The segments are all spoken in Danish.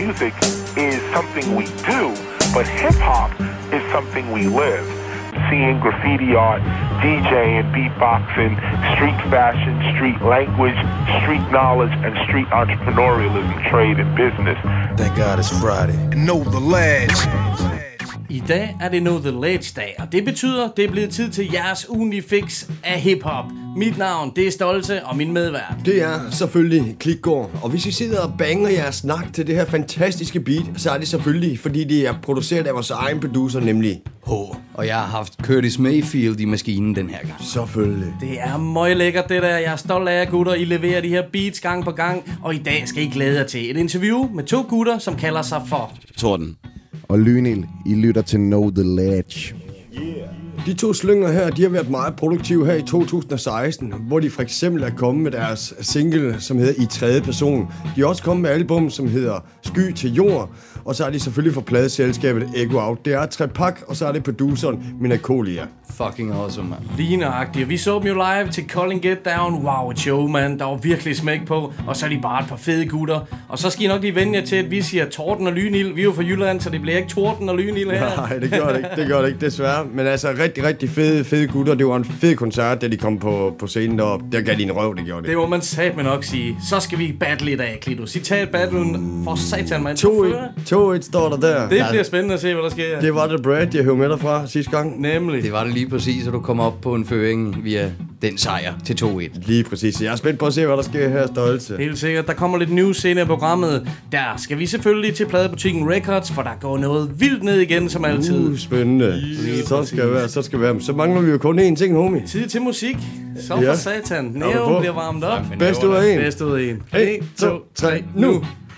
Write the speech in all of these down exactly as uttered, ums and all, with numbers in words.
music is something we do, but hip-hop is something we live. Seeing graffiti art, DJing, beatboxing, street fashion, street language, street knowledge, and street entrepreneurialism, trade and business. Thank God it's Friday. And know the ledge. I dag er det Know The Ledge-dag, og det betyder, det er blevet tid til jeres ugenlige fix af hiphop. Mit navn, det er Stolte, og min medvært. Det er selvfølgelig Klikgaard, og hvis I sidder og banger jeres snak til det her fantastiske beat, så er det selvfølgelig, fordi det er produceret af vores egen producer, nemlig H. Og jeg har haft Curtis Mayfield i maskinen den her gang. Selvfølgelig. Det er meget lækkert det der, jeg er stolt af jer gutter. I leverer de her beats gang på gang, og i dag skal I glæde jer til et interview med to gutter, som kalder sig for Torden og Lynil. I lytter til Know The Ledge. De to slynger her, de har været meget produktive her i to tusind og seksten, hvor de for eksempel er kommet med deres single, som hedder I tredje person. De er også kommet med album, som hedder Sky til jord, og så er de selvfølgelig fra pladeselskabet Ego Out. Det er Trepak, og så er det produceren Minakolia. Fucking awesome, man. Lige nøjagtigt. Vi så dem jo live til Calling Get Down. Wow, et show, man. Der var virkelig smæk på. Og så er de bare et par fede gutter. Og så skal I nok lige vende jer til, at vi siger Torden og Lynil. Vi er jo fra Jylland, så det bliver ikke Torden og Lynil her. Nej, det gør det ikke. Det gør det ikke, desværre. Men altså, rigtig, rigtig fede, fede gutter. Det var en fed koncert, da de kom på, på scenen deroppe. Der gav de en røv, det gjorde det. Det må man satme nok sige. Så skal vi battle i dag, Klito. Citat battlen for satan, man. to et står der der. Det bliver spændende at se, hvad der sker. Det var det Brad, jeg høvede med dig fra sidste gang. Nemlig. Det var det lige præcis, så du kom op på en føring via den sejr til to et. Lige præcis. Jeg er spændt på at se, hvad der sker her, Stolte. Helt sikkert. Der kommer lidt news senere i programmet. Der skal vi selvfølgelig til pladebutikken Records, for der går noget vildt ned igen, som altid. Uh, spændende. Så skal, være, så skal være. Så mangler vi jo kun én ting, homie. Tid til musik. Så for ja. Satan. Næven bliver varmet op. Bedst ud af en. Bedst ud af en. en, to, tre, nu.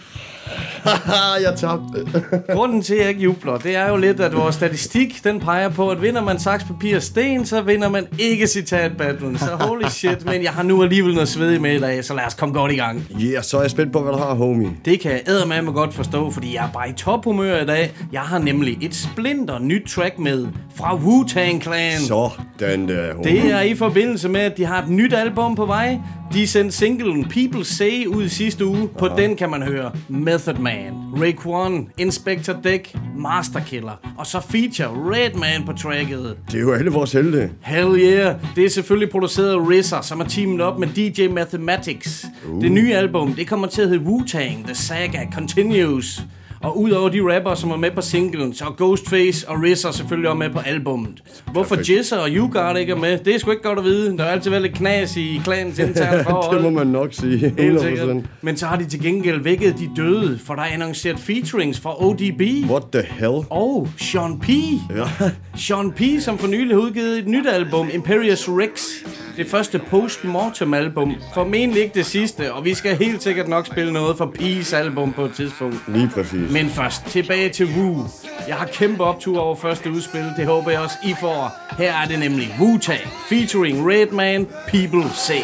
Jeg tabte. Grunden til, at jeg ikke jubler, det er jo lidt, at vores statistik, den peger på, at vinder man saks, papir og sten, så vinder man ikke citat-battlen. Så holy shit, men jeg har nu alligevel noget svedig med i dag, så lad os komme godt i gang. Ja, yeah, så er jeg spændt på, hvad du har, homie. Det kan jeg eddermame godt forstå, fordi jeg er bare i tophumør i dag. Jeg har nemlig et splinter nyt track med fra Wu-Tang Clan. Så den der, homie. Det er i forbindelse med, at de har et nyt album på vej. De sendte singlen People Say ud i sidste uge. På Aha. den kan man høre Method Man, Raekwon, Inspector Deck, Master Killer, og så feature Redman på tracket. Det er jo alle vores helte. Hell yeah. Det er selvfølgelig produceret af R Z A, som er teamet op med D J Mathematics. Uh. Det nye album, det kommer til at hedde Wu-Tang The Saga Continues. Og udover de rapper, som er med på singlen, så er Ghostface og R Z A selvfølgelig også med på albummet. Hvorfor Jizza og YouGot ikke er med, det er sgu ikke godt at vide. Der er altid været lidt knas i klanens interne forhold. Det må man nok sige. hundrede procent. Men så har de til gengæld vækket de døde, for der er annonceret featurings fra O D B. What the hell? Og Sean P. Ja. Sean P, som for nylig har udgivet et nyt album, Imperious Rex. Det første post-mortem album. Formentlig ikke det sidste, og vi skal helt sikkert nok spille noget for P's album på et tidspunkt. Lige præcis. Men først, tilbage til Wu. Jeg har kæmpe optur over første udspil, det håber jeg også I får. Her er det nemlig Wu-Tang, featuring Redman, People Say.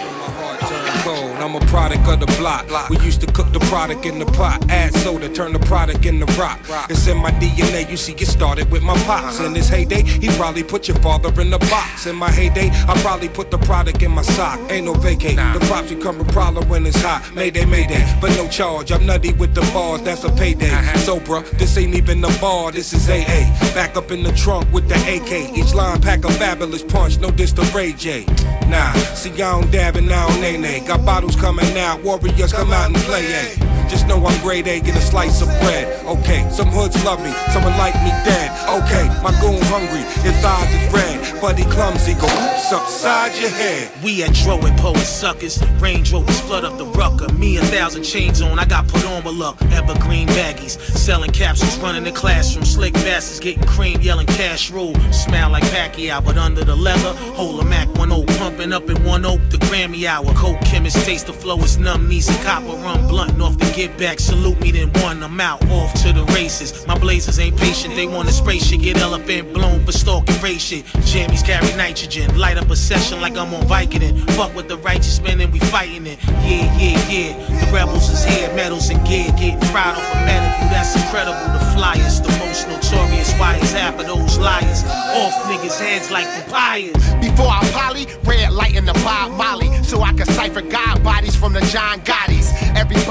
I'm a product of the block. We used to cook the product in the pot, add soda, turn the product into rock. It's in my D N A, you see, it started with my pops. In his heyday, he probably put your father in the box. In my heyday, I probably put the product in my sock. Ain't no vacate, the props become a problem when it's hot. Mayday, mayday, but no charge. I'm nutty with the bars, that's a payday. So bruh, this ain't even a bar, this is A A. Back up in the trunk with the A K. Each line pack a fabulous punch, no diss to Ray J. Nah, see I don't dab and I don't nay-nay. Got bottles coming out, warriors come out and play, eh? Just know I'm grade A, get a slice of bread. Okay, some hoods love me, someone like me dead. Okay, my goon hungry, his eyes is red. Buddy clumsy, go oops upside your head. We at Dro and Poet suckers, Range Rovers flood up the rucker. Me a thousand chains on, I got put on with luck. Evergreen baggies, selling capsules, running the classroom. Slick bastards getting cream, yelling cash rule. Smell like Pacquiao, but under the leather, hold a Mac one oh, pumping up in one oak, the Grammy hour. Coke chemist, taste the flow, it's numb, knees and copper rum, blunt off the get back, salute me then one, I'm out, off to the races. My blazers ain't patient, they want to spray shit, get elephant blown, but stalking race shit. Jammies carry nitrogen, light up a session like I'm on Vicodin. Fuck with the righteous men and we fighting it. Yeah, yeah, yeah, the rebels is here, medals and gear, getting fried off a medical, that's incredible. The flyers, the most notorious, why is half of those liars off niggas' heads like papayas. Before I poly, red light in the Bob Molly, so I can cipher God bodies from the John Gottis. Everybody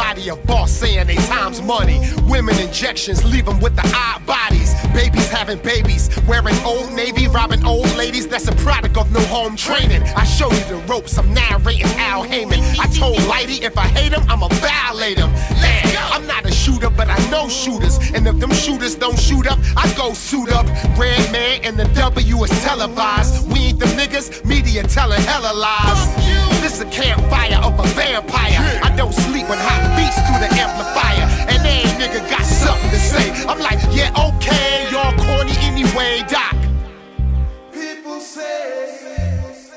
body a boss saying they time's money. Women injections leave them with the odd bodies. Babies having babies, wearing Old Navy, robbing old ladies. That's a product of no home training. I show you the ropes, I'm narrating Al Heyman. I told Lighty if I hate him, I'ma violate him. Man, I'm not a shooter, but I know shooters. And if them shooters don't shoot up, I go suit up. Red Man and the W is televised. We ain't the niggas, media telling hella lies. This is a campfire of a vampire. I don't sleep when hot beats through the amplifier. And every nigga got something to say. I'm like, yeah, okay, y'all corny anyway, Doc. People say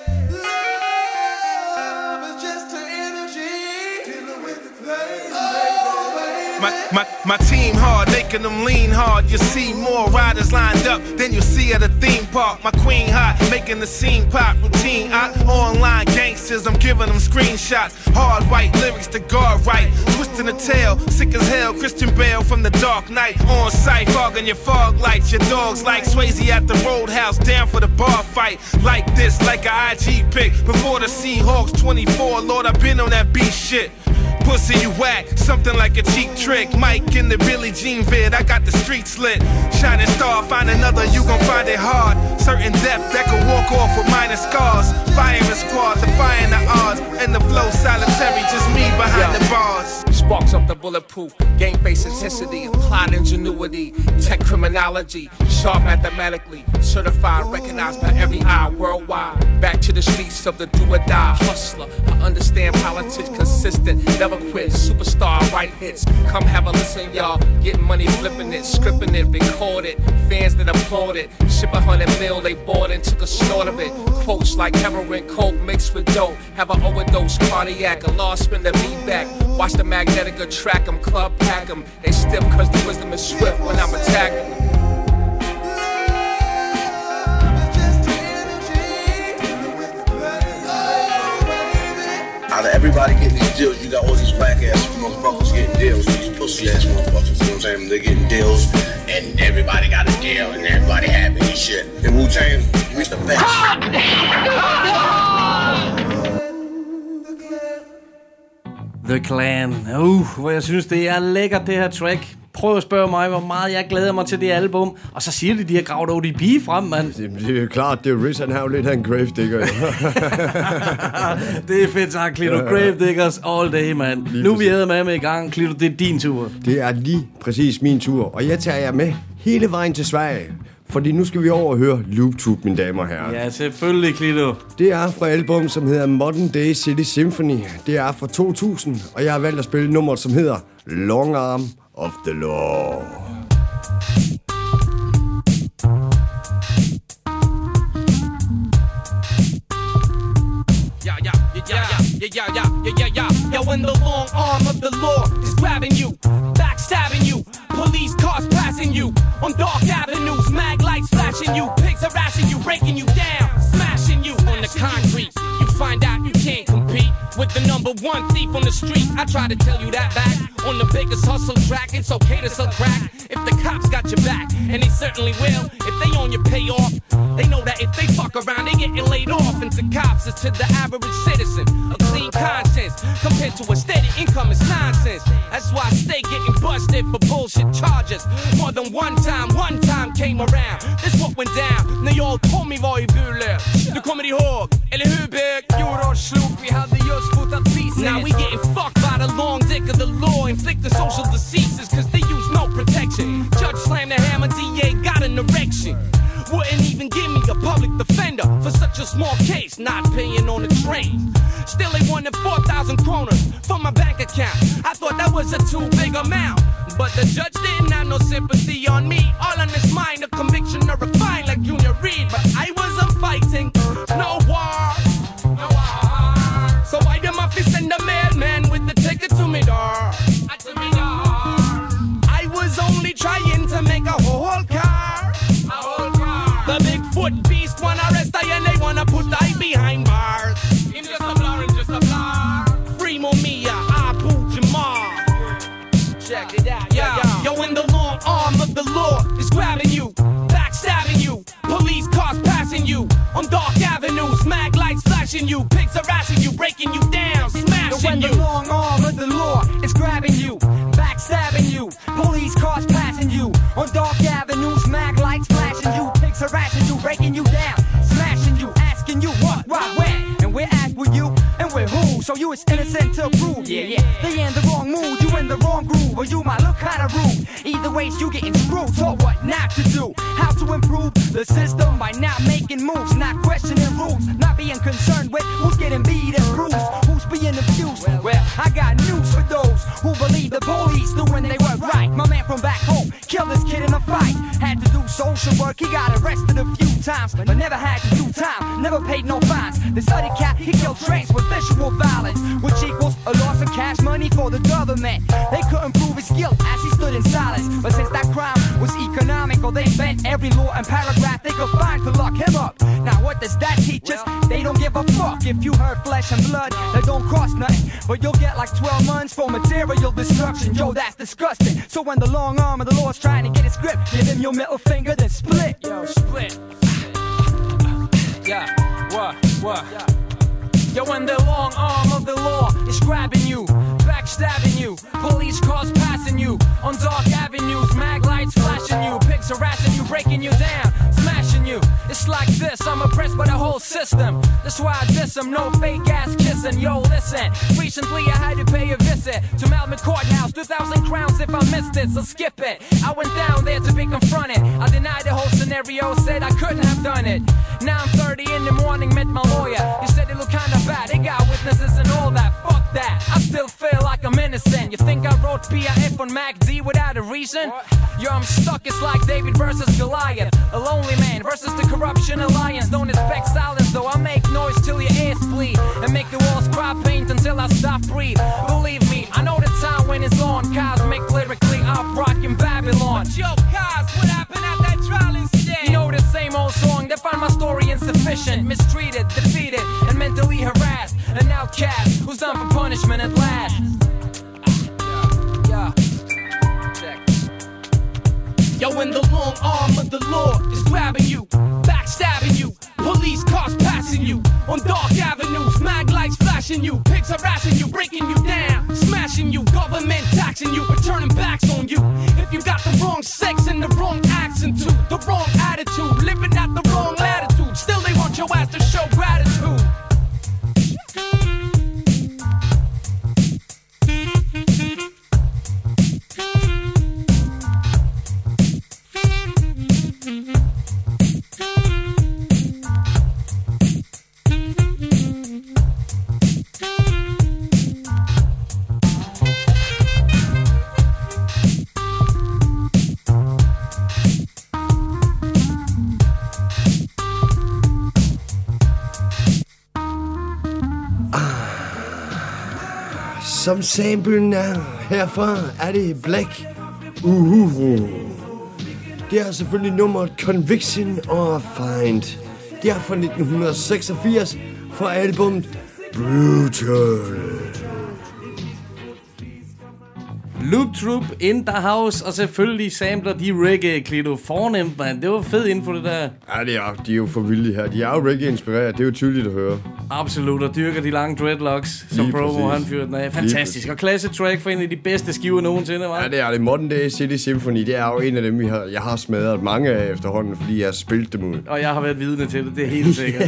love is just an energy dealing with the pain. My, my, my team hard, making them lean hard. You see more riders lined up than you see at a theme park. My queen hot, making the scene pop. Routine, I online gangsters, I'm giving them screenshots. Hard white lyrics to guard right. Twisting the tail, sick as hell. Christian Bale from the Dark Knight. On sight, fogging your fog lights. Your dogs like Swayze at the Roadhouse. Down for the bar fight. Like this, like a I G pic. Before the Seahawks twenty-four, Lord, I've been on that beat shit. Pussy you whack, something like a cheap trick. Mike in the Billie Jean vid, I got the streets lit. Shining star, find another, you gon' find it hard. Certain depth that can walk off with minor scars. Firing squad, defying the odds. And the flow solitary, just me behind Yo. the bars. Sparks up the bulletproof, game face intensity, applied ingenuity, tech criminology, sharp mathematically, certified, recognized by every eye worldwide. Back to the streets of the do or die hustler. I understand politics, consistent, never quit, superstar, right hits. Come have a listen, y'all. Getting money, flipping it, scripting it, record it. Fans that applaud it. Ship a hundred mil, they bought and took a snort of it. Quotes like heroin, coke mixed with dope. Have an overdose, cardiac, a lost spin the beat back. Watch the magnetic track them, club pack them. They stiff cause the wisdom is swift when I'm attacking them. Out of everybody getting these deals, you got all these black ass motherfuckers getting deals. These pussy ass motherfuckers, you know what I'm saying? They're getting deals, and everybody got a deal, and everybody happy and shit. In Wu-Tang, we the best. The Clan. Uh, hvor jeg synes, det er lækkert, det her track. Prøv at spørge mig, hvor meget jeg glæder mig til det album. Og så siger de, de har gravet O D B frem, mand. Det er jo klart, det er Riz, han har jo lidt af en gravedigger. Det er fedt sagt, Clito. Gravediggers all day, mand. Nu er vi æder med med i gang. Clito, det er din tur. Det er lige præcis min tur. Og jeg tager jer med hele vejen til Sverige. Fordi nu skal vi over og høre Loop Tube, mine damer og herrer. Ja, selvfølgelig, Clito. Det er fra album, som hedder Modern Day City Symphony. Det er fra to tusind, og jeg har valgt at spille nummeret, som hedder Long Arm of the Law. Yeah, yeah, yeah, yeah, yeah, yeah, yeah, yeah, yeah. Yo, when the long arm of the law is grabbing you, backstabbing you, police cars passing you on dark avenues, mag lights flashing you, pigs harassing you, breaking you down, smashing you on the concrete. You find out you can't compete with the number one thief on the street. I try to tell you that back on the biggest hustle track. It's okay to sell crack if the cops got your back, and they certainly will if they own your payoff. They know that if they fuck around, they getting laid off. And to cops, it's to the average citizen, a clean conscience compared to a steady income is nonsense. That's why I stay getting busted for bullshit charges. More than one time, one time came around. This what went down när jag och Tommy var i Burlöv. Du kommer ihåg, eller hur bög? Fjolårs slog, vi hade just fotat pieces. Now we getting fucked by the long dick of the law, inflicting social diseases cause they use no protection. Judge slammed the hammer, D A got an erection. Wouldn't even give me a public defender for such a small case, not paying on the train. Still they wanted four thousand kroners from my bank account. I thought that was a too big amount, but the judge didn't have no sympathy on me. All on his mind, a conviction or a fine like Junior Reid. But I wasn't fighting no war, no war. So why the mafia send the mailman with the ticket to me door? To me door. I was only trying to make a whole car, a whole car. The Bigfoot beast wanna arrest I and they wanna put I behind bars. I'm just a blur, I'm just a blur. Free Mumia, Abu Jamal. Check it out, yeah, yeah. Yo, when the long arm of the law is grabbing you, backstabbing you, police cars passing you on dark avenues, mag lights flashing you, pigs harassing you, breaking you down, smashing you. When the long arm of the law is grabbing backstabbing you, police cars passing you on dark avenues, mag lights flashing you, pigs harassing you, breaking you down, smashing you, asking you what, why, when, and we're at with you, and we're who, so you is innocent to prove, yeah, yeah, they in the wrong mood, you in the wrong groove, or you might look kinda rude, either way you getting screwed, taught what not to do, how to improve the system by not making moves, not questioning rules, not being concerned with who's getting beat and bruised, who's being abused, well, I got news for those who believe the police doing they work right, my man from back home, killed this kid in a fight, had to do social work, he got arrested a few times, but never had to do time, never paid no fines, the study cat, he killed trains with visual violence, which equals a loss of cash money for the government, they couldn't prove his guilt as he stood in silence, but since that crime was economical, they bent every law and paragraph they could find to lock him up, now what does that teach us? They don't give a fuck if you hurt flesh and blood, that don't cost nothing, but you'll get like twelve months for material destruction, yo that's disgusting, so when the long arm of the law's trying to get his grip, give him your middle finger then split, yo split, yeah, what, what, yo when the long arm of the law is grabbing you, backstabbing you, police cars passing you, on dark avenues, mag lights flashing you, pigs harassing you, breaking you down, smashing you, it's like this, I'm oppressed by the whole system, that's why I diss them, no fake ass kissing, yo listen, recently I had to pay a visit to Malmö Courthouse, two thousand crowns if I missed it, so skip it, I went down there to be confronted, I denied the whole scenario, said I couldn't have done it, now I'm thirty in the morning, met my lawyer, he said it looked kinda bad, they got witnesses and all that, fuck that, I still feel like I'm innocent, you think I wrote P I F on Mac D without a reason? Yo I'm stuck, it's like David versus Goliath, a lonely man versus the corruption alliance, don't expect silence though, I make noise till your ears bleed, and make the walls cry paint until I stop breathe, believe me, I know the time when it's on, cosmic lyrically, I'm rocking Babylon. Yo Kaz, what happened at that trial instead? You know the same old song, they find my story insufficient, mistreated, defeated, and mentally harassed, an outcast, who's done for punishment at last. Yeah, check. Yo, when the long arm of the law is grabbing you, backstabbing you, police cars passing you, on dark avenues, mag lights flashing you, pigs harassing you, breaking you down, smashing you, government taxing you, but turning backs on you. If you got the wrong sex and the wrong accent too, the wrong attitude, living at the wrong latitude, still they want your ass to show gratitude. Som samplen er herfra, er det Black Uhuru. Det er selvfølgelig nummeret Conviction or Find. Det er fra nitten seksogfirs fra albumet Brutal. Loop Troop in the house, og selvfølgelig sampler de reggae, Klito. Fornemt, man. Det var fed info, det der. Ja, det er, de er jo for vilde her. De er jo reggae-inspireret, det er jo tydeligt at høre. Absolut, og dyrker de lange dreadlocks, som Promo han fyrte den af. Fantastisk, og klasse track for en af de bedste skiver nogensinde, var. Ja, det er det. Modern Day City Symphony, det er jo en af dem, vi har, jeg har smadret mange af efterhånden, fordi jeg har spillet dem ud. Og jeg har været vidne til det, det er helt sikkert.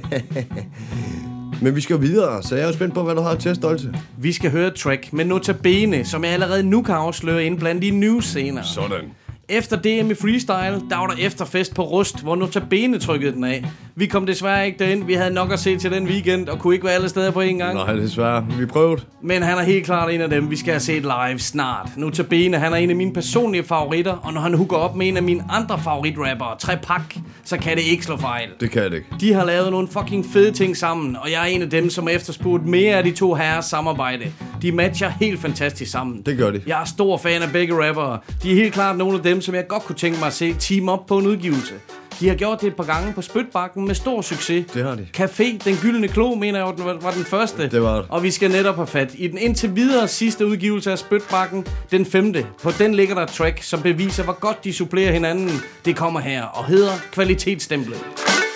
Men vi skal videre, så jeg er jo spændt på, hvad du har til, Stolte. Vi skal høre et track med Notabene, som jeg allerede nu kan afsløre ind blandt de news-scener. Sådan. Efter D M i freestyle, der var der efterfest på Rust, hvor Notabene trykkede den af. Vi kom desværre ikke derind. Vi havde nok at se til den weekend, og kunne ikke være alle steder på en gang. Nej, desværre. Vi prøvede. Men han er helt klart en af dem, vi skal have set live snart. Notabene, han er en af mine personlige favoritter, og når han hooker op med en af mine andre favoritrappere, Trepak, så kan det ikke slå fejl. Det kan det ikke. De har lavet nogle fucking fede ting sammen, og jeg er en af dem, som har efterspurgt mere af de to herres samarbejde. De matcher helt fantastisk sammen. Det gør de. Jeg er stor fan af begge rappere. De er helt klart nogle af dem, som jeg godt kunne tænke mig at se team op på en udgivelse. De har gjort det et par gange på Spytbakken med stor succes. Det har de. Café, den gyldne klo, mener jeg den var den første. Det var det. Og vi skal netop have fat i den indtil videre sidste udgivelse af Spytbakken, den femte. På den ligger der et track, som beviser, hvor godt de supplerer hinanden. Det kommer her og hedder Kvalitetsstemplet.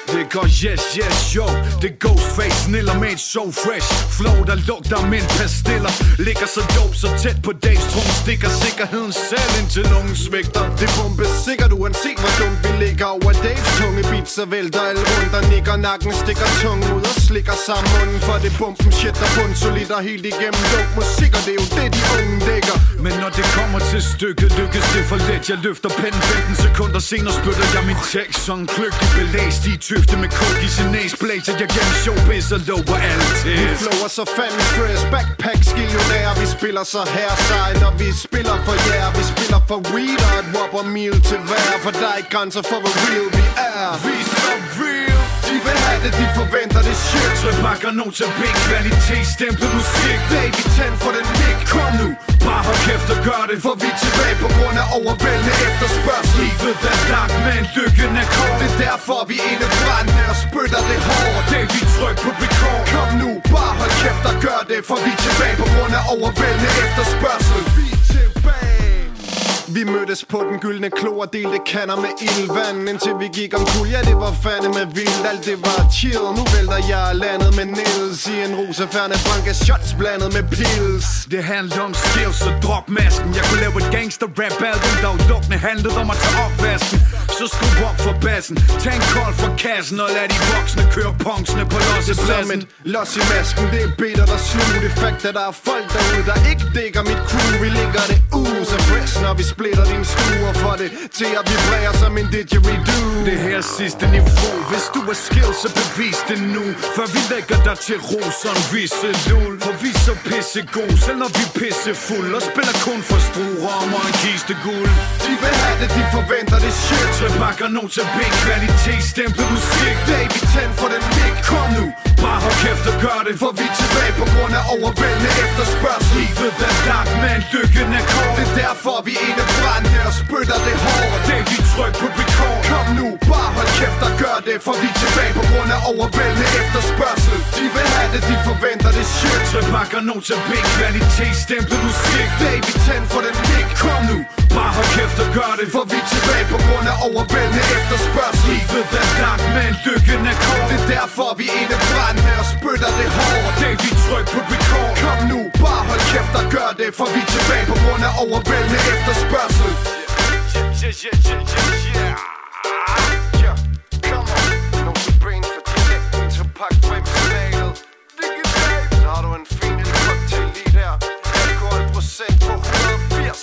Det går yes, yes, yo. Det er Ghostface, niller med et so fresh flow, der lugter med en pastiller. Ligger så dope, så tæt på dags trum. Stikker sikkerheden selv indtil nogen svigter. Det bombe sikkert uanset hvor dumt vi ligger over Daves tunge beat. Så vælter alle rundt og nikker nakken, stikker tungen ud og slikker sammen munden. For det bumpen shit der bund solid og helt igennem luk musik. Og det er jo det de unge dækker. Men når det kommer til stykket, lykkes det for let. Jeg løfter pennen femten sekunder senere, spytter jeg min tekst. Sådan kløgtig belæst i tøfte med coke i sin næse. Blæser jeg gennem showbiz og lover alle til. Vi flower så fandme stress, backpack skillionærer. Vi spiller så her sej, når vi spiller for jer. Vi spiller for weed og et whopper meal til hver. For der er ikke grænser for hvor real vi er. Vi er så real. De vil have det, de forventer det shit. Tryk bakker nogen til big kvalitet, stemplet musik. Baby, tænd for den mic. Kom nu, bare hold kæft og gør det. For vi er tilbage på grund af overvældende efterspørgsel. Livet er langt, men lykken er kort. Det er derfor vi inde brændte og spytter det hårdt. Det er vi tryk på record. Kom nu, bare hold kæft og gør det. For vi er tilbage på grund af overvældende efterspørgsel. Vi er tilbage. Vi mødtes på den gyldne klo og delte kander med ildvand. Indtil vi gik om kul, ja det var fandeme vildt. Alt det var chill, nu vælter jeg landet med Nils i en rusefærne banke shots blandet med pills. Det handler om skills, så drop masken. Jeg kunne lave et gangster rap album, der udelukkende handlede om at tage opvasken. Så skru op for bassen, tag en kold for kassen og lad de voksne køre punksene på lossepladsen. Los i masken, det er bitter der slug. Det er fakt, at der er folk derude, der ikke dækker mit crew. Vi ligger det ud så fresh, når vi splitter din stue og får det til at vibrere som en didgeridoo. Det her sidste niveau, hvis du er skills, så bevis det nu. Før vi lægger dig til ro som visse lul. For vi er så pissegod, selv når vi er pissefuld. Og spiller kun for struer og en kiste guld. De vil have det, de forventer det shit. Så bakker nogen til big kvalitet, stemplet musik. Baby, tænd for den mic. Kom nu, bare hold kæft og gør det. For vi er tilbage på grund af overvældende efterspørgsel. Livet er langt, men lykken er kort. Det er derfor vi inde brændte og spytter det hårdt. Det er vi tryk på record. Kom nu, bare hold kæft og gør det. For vi er tilbage på grund af overvældende efterspørgsel. De vil have det, de forventer det shit. Så bakker nogen til big kvalitet, stemplet musik. Baby, tænd for den mic. Kom nu, bare hold kæft og gør det. For vi er tilbage på grund af overvældende efterspørgsel. Livet er langt, men lykken er kort. Det er derfor vi inde brændte og spytter det hårdt. Det er vi tryk på record. Kom nu, bare hold kæft og gør det. For vi er tilbage på grund af overvældende efterspørgsel. Yeah, yeah, yeah, yeah, yeah. Yeah, come on. Nogle Supreme for dialekten til pakke frem i smalet. Så har du en fin lille cocktail lige der. Alkoholprocent på et hundrede og firs.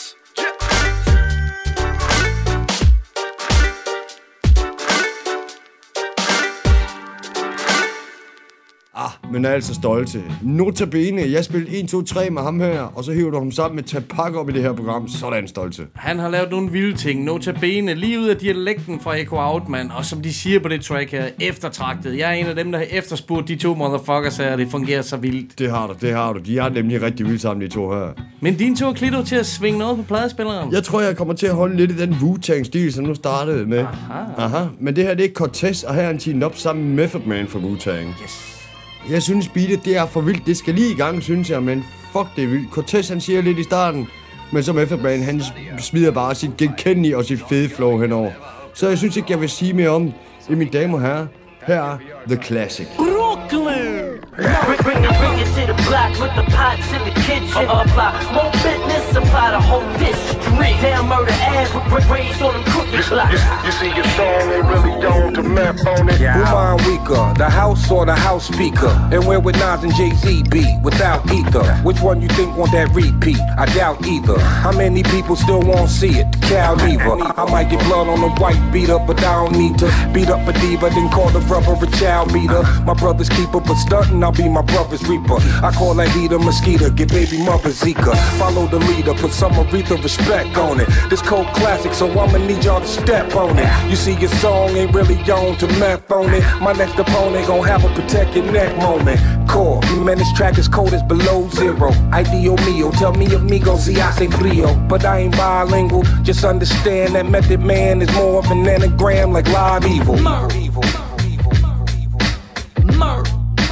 Ah, men er altså stolte. Notabene, jeg spillede en, to, tre med ham her, og så hiver du ham sammen med Tapak op i det her program. Sådan stolte. Han har lavet nogle vilde ting. Notabene, lige ud af dialekten fra Echo Out, man. Og som de siger på det track her, eftertragtet. Jeg er en af dem, der har efterspurgt de to motherfuckers her, og det fungerer så vildt. Det har du, det har du. De er nemlig rigtig vildt sammen, de to her. Men dine to klitter til at svinge noget på pladespilleren. Jeg tror, jeg kommer til at holde lidt i den Wu-Tang-stil, som nu startede med. Aha. Aha. Men det her, det er Cortez, og her er en team op sammen med Method Man fra Wu-Tang. Yes. Jeg synes, beatet, det er for vildt. Det skal lige i gang, synes jeg, men fuck, det er vildt. Cortez, han siger lidt i starten, men som Method Man, han smider bare sit genkendelige og sit fede flow henover. Så jeg synes ikke, jeg vil sige mere om i mine damer og herrer. Her er The Classic. Brooklyn! Bring, bring it, bring it to the block with the pots in the kitchen. Uh, apply more business, supply the whole district. Damn murder ass, raised on them cookie blocks. You see your song ain't really done to map on it. Yeah. Who mine weaker, the house or the house speaker? And where would Nas and Jay-Z be without either? Which one you think want that repeat? I doubt either. How many people still won't see it? Cal neither. I might get blood on the white beat up, but I don't need to beat up a diva, then call the brother a child beater. My brother's keeper, but stuntin', I'll be my brother's reaper. I call that heater mosquito, get baby mother Zika. Follow the leader, put some Aretha respect on it. This cold classic, so I'ma need y'all to step on it. You see your song ain't really on to meth on it. My next opponent gon' have a protect your neck moment. Core, man, this track is cold as below zero. Ideal mio, tell me amigo, si hace frio. But I ain't bilingual, just understand that Method Man is more of an anagram like Live Evil. Mur. Mur.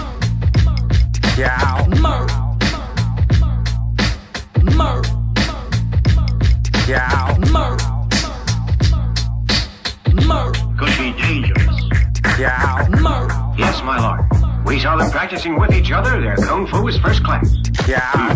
Yeah. Mur. Mur. Yeah. Mur. Mur. Could be dangerous. Yeah. We saw them practicing with each other. Their kung fu is first class. Yeah.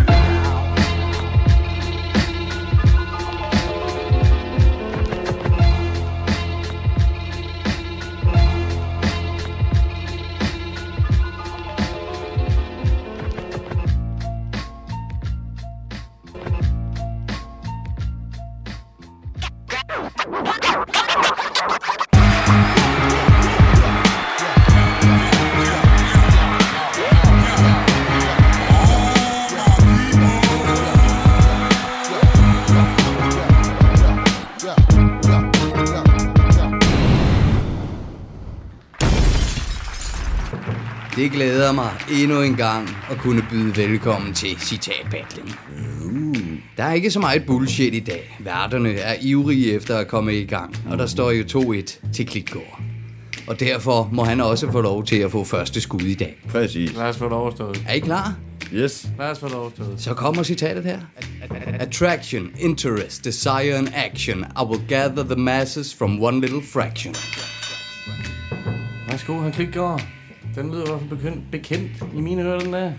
Det glæder mig endnu en gang at kunne byde velkommen til citatbattling. Uh. Der er ikke så meget bullshit i dag. Værterne er ivrige efter at komme i gang, og der står jo to et til Klitgaard. Og derfor må han også få lov til at få første skud i dag. Præcis. Lad os få det overstået. Er I klar? Yes. Lad os få det overstået. Så kommer citatet her. Attraction, interest, desire and action. I will gather the masses from one little fraction. Værsgo, han Klitgaard. Den lyder i hvert fald bekendt, bekendt i mine ører, den der.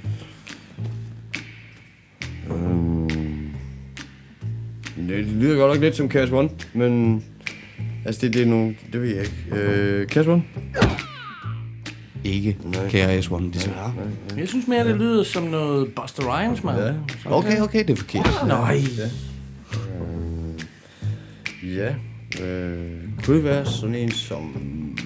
Um, det lyder godt nok lidt som Cash One, men altså det, det er nogle, det ved jeg ikke. Uh, Cash One? Ikke K R S One, desværre. Jeg synes mere, det lyder som noget Busta Rhymes, man. Ja. Okay, okay, det er forkert. Nej. Ja. Uh, ja. Uh, kunne det være sådan en som...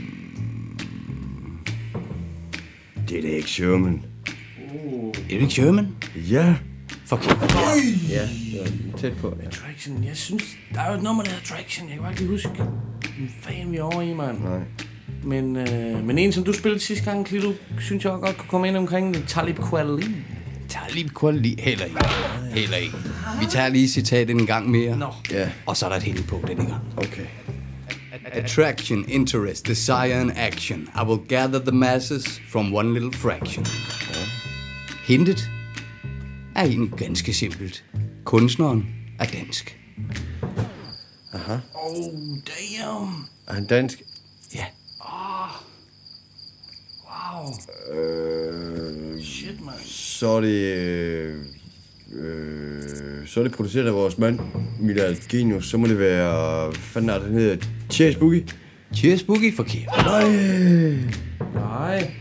Det er det ikke Sherman. Uh. Er det ikke Sherman? Ja. Forkert. Ja, det var tæt på. Ja. Attraction, jeg synes, der er jo et nummer, der hedder Attraction. Jeg kan bare ikke lige huske, hvad fanden vi er over i, mand. Nej. Men, øh, men en, som du spillede sidste gang, Klito, synes jeg også godt kunne komme ind omkring det. Talib Kweli. Talib Kweli. Heller ikke. Heller ikke. Vi tager lige citatet en gang mere. Nå. Ja. Og så er der et hint på denne gang. Okay. Attraction, interest, desire and action. I will gather the masses from one little fraction. Ja. Hintet er egentlig ganske simpelt. Kunstneren er dansk. Aha. Oh, damn. Er han dansk? Ja. Oh. Wow. Øh, Shit, man. Så er det... Øh, øh, så er det produceret af vores mand, Milad Genius. Så må det være... Hvad fanden er det, den hedder? Cheers Boogie? Cheers Boogie? Forkert. Nej. Nej.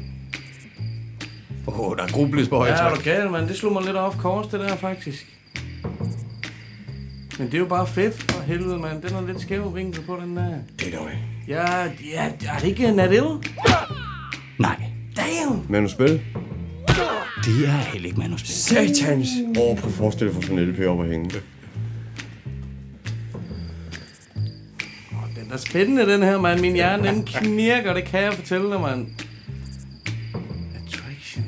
Åh, oh, der er grubles på højtryk. Ja, er du galt, mand. Det slog mig lidt off course, det der, faktisk. Men det er jo bare fedt for helvede, mand. Den er lidt skæv vinkel på, den der. Det er dog ikke. Ja, ja, er det ikke Nadil? Nej. Damn. Manuspil? Det er heller ikke manuspil. Satans! Åh, oh, prøv at forestille dig for sådan en L P op at hænge. Den er spændende, den her, mand. Min hjerne, den knirker, det kan jeg fortælle dig, mand. Attraction.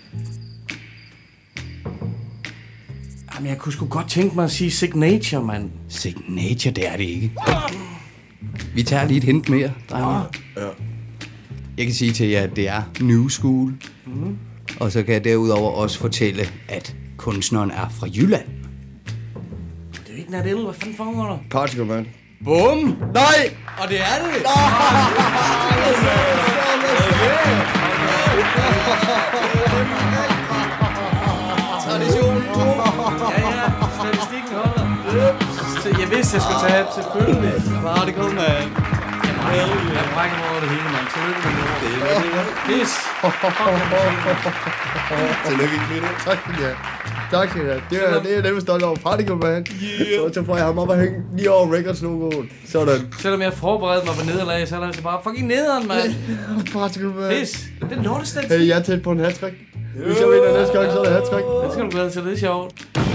Jamen, jeg kunne sgu godt tænke mig at sige Signature, mand. Signature, det er det ikke. Vi tager lige et hint mere, drenge. Ja. Jeg kan sige til jer, at det er New School. Mm. Og så kan jeg derudover også fortælle, at kunstneren er fra Jylland. Det er ikke Nadil, hvad fanden foregår der? Particle Man. Bum! Nej! Og det er det! Traditionen. Ja, ja. Statistikken holder. Så jeg vidste, jeg skulle tage det, selvfølgelig. Particle Man. Jeg brækker mig over det hele, mand. Tillykke med det. Pis. Tillykke, Klito. Tak skal I have. Tak skal I have. Det er, det er dem stolt over. Particle Man. Yeah. Så får jeg ham op og hænge lige over Records-logoen. Sådan. Selvom jeg forberedte mig på nederlag, så er det bare fucking nederen, mand. Particle Man. Pis. Det er lortestatistik. Hey, jeg er tæt på en hat-trick. Hvis jeg vinder næste gang, så er det hat-trick. Det skal du glæde til, det er sjovt.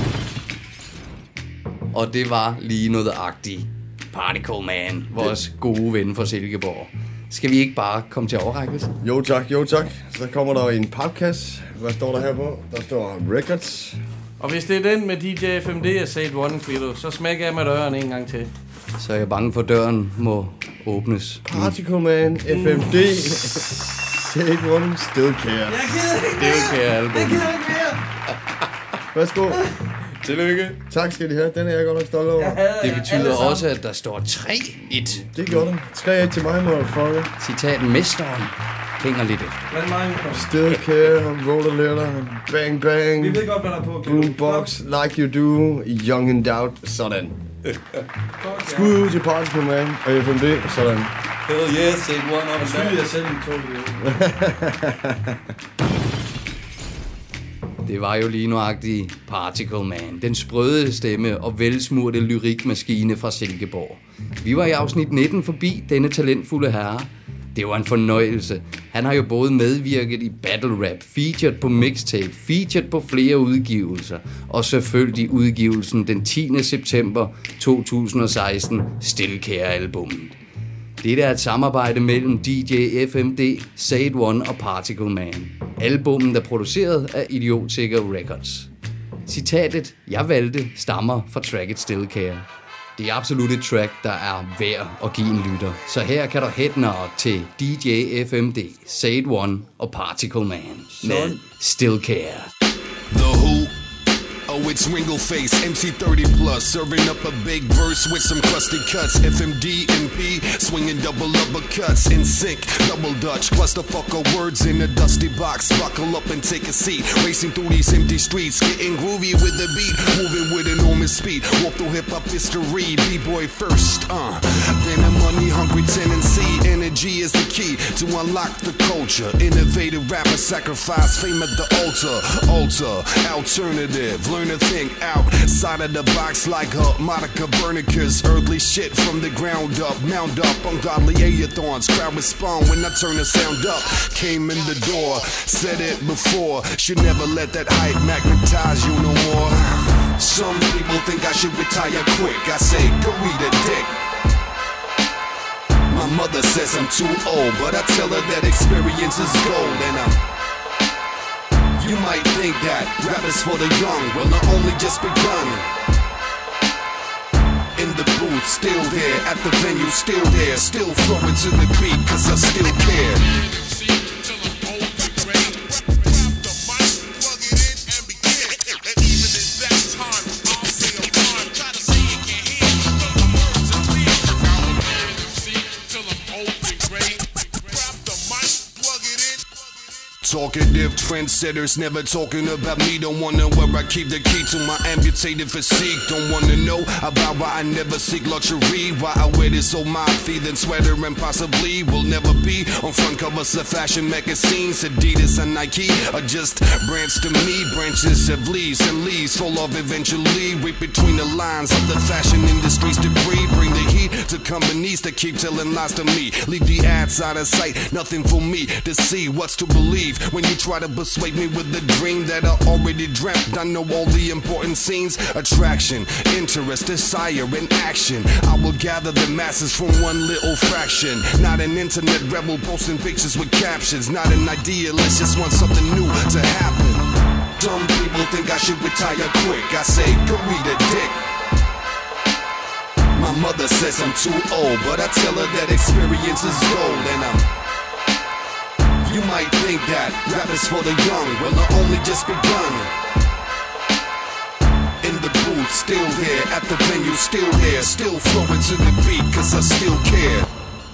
Og det var lige noget agtigt. Particle Man, vores gode ven fra Silkeborg. Skal vi ikke bare komme til overrækkelse? Jo tak, jo tak. Så kommer der en papkasse. Hvad står der her på? Der står Records. Og hvis det er den med D J F M D og Sade One, Klito, så smækker jeg med døren en gang til. Så er jeg bange for, at døren må åbnes. Particle Man, F M D, Sade One, Still Care. Jeg gider ikke mere! Still Care album. Jeg gider ikke mere! Værsgo. Tillykke. Tak skal de have. Den er jeg godt nok stolt over. Det betyder også, at der står tre et. Det gjorde det. tre et til mig, motherfucker. Citat mesteren. Hænger lidt efter. Still care, roll a letter, bang bang. Vi ved godt, hvad der er på. Boombox, like you do, young and out, sådan. Skud ud til Particle Man og F M D, sådan. Hell yes, say one on the Skud jeg selv i toget. Det var jo lige nuagtigt Particle Man, den sprøde stemme og velsmurte lyrikmaskine fra Silkeborg. Vi var i afsnit nitten forbi denne talentfulde herre. Det var en fornøjelse. Han har jo både medvirket i battle rap, featured på mixtape, featured på flere udgivelser, og selvfølgelig udgivelsen den tiende september to tusind og seksten, Still Care-albummet. Dette er et samarbejde mellem D J F M D, Say One og Particle Man. Albummet er produceret af Idiotsikker Records. Citatet, jeg valgte, stammer fra tracket Still Care. Det er absolut et track, der er værd at give en lytter. Så her kan du headnørt til D J F M D, Say One og Particle Man med Still Care. The Who. Oh, it's Ringo Face, M C thirty plus, serving up a big verse with some crusty cuts. F M D and P, swinging double uppercuts in sync, double Dutch, clusterfucker words in a dusty box. Buckle up and take a seat, racing through these empty streets, getting groovy with the beat, moving with enormous speed. Walk through hip hop history, B-boy first, uh. Then a money hungry tendency, energy is the key to unlock the culture. Innovative rapper sacrifice fame at the altar, altar, alternative. Learn to think outside of the box like her Monica Bernica's earthly shit from the ground up. Mount up ungodly aethons. Crowd respond when I turn the sound up. Came in the door, said it before. Should never let that hype magnetize you no more. Some people think I should retire quick. I say, go read a dick. My mother says I'm too old, but I tell her that experience is gold and I'm. You might think that rap is for the young, well I only just begun. In the booth, still there, at the venue, still there, still flowing to the beat, cause I still care. Talkative trendsetters never talking about me. Don't wanna where I keep the key to my amputated physique. Don't wanna know about why I never seek luxury. Why I wear this old moth-y then sweater and possibly will never be on front covers of fashion magazines. Adidas and Nike are just brands to me. Branches of leaves and leaves fall off eventually. Read between the lines of the fashion industry's debris. Bring the heat to companies that keep telling lies to me. Leave the ads out of sight. Nothing for me to see. What's to believe? When you try to persuade me with the dream that I already dreamt. I know all the important scenes. Attraction, interest, desire, and action. I will gather the masses from one little fraction. Not an internet rebel posting pictures with captions. Not an idealist, just want something new to happen. Some people think I should retire quick. I say, go read a dick. My mother says I'm too old, but I tell her that experience is gold and I'm. You might think that rap is for the young, well I only just begun. In the booth, still there, at the venue, still there, still flowing to the beat, cause I still care.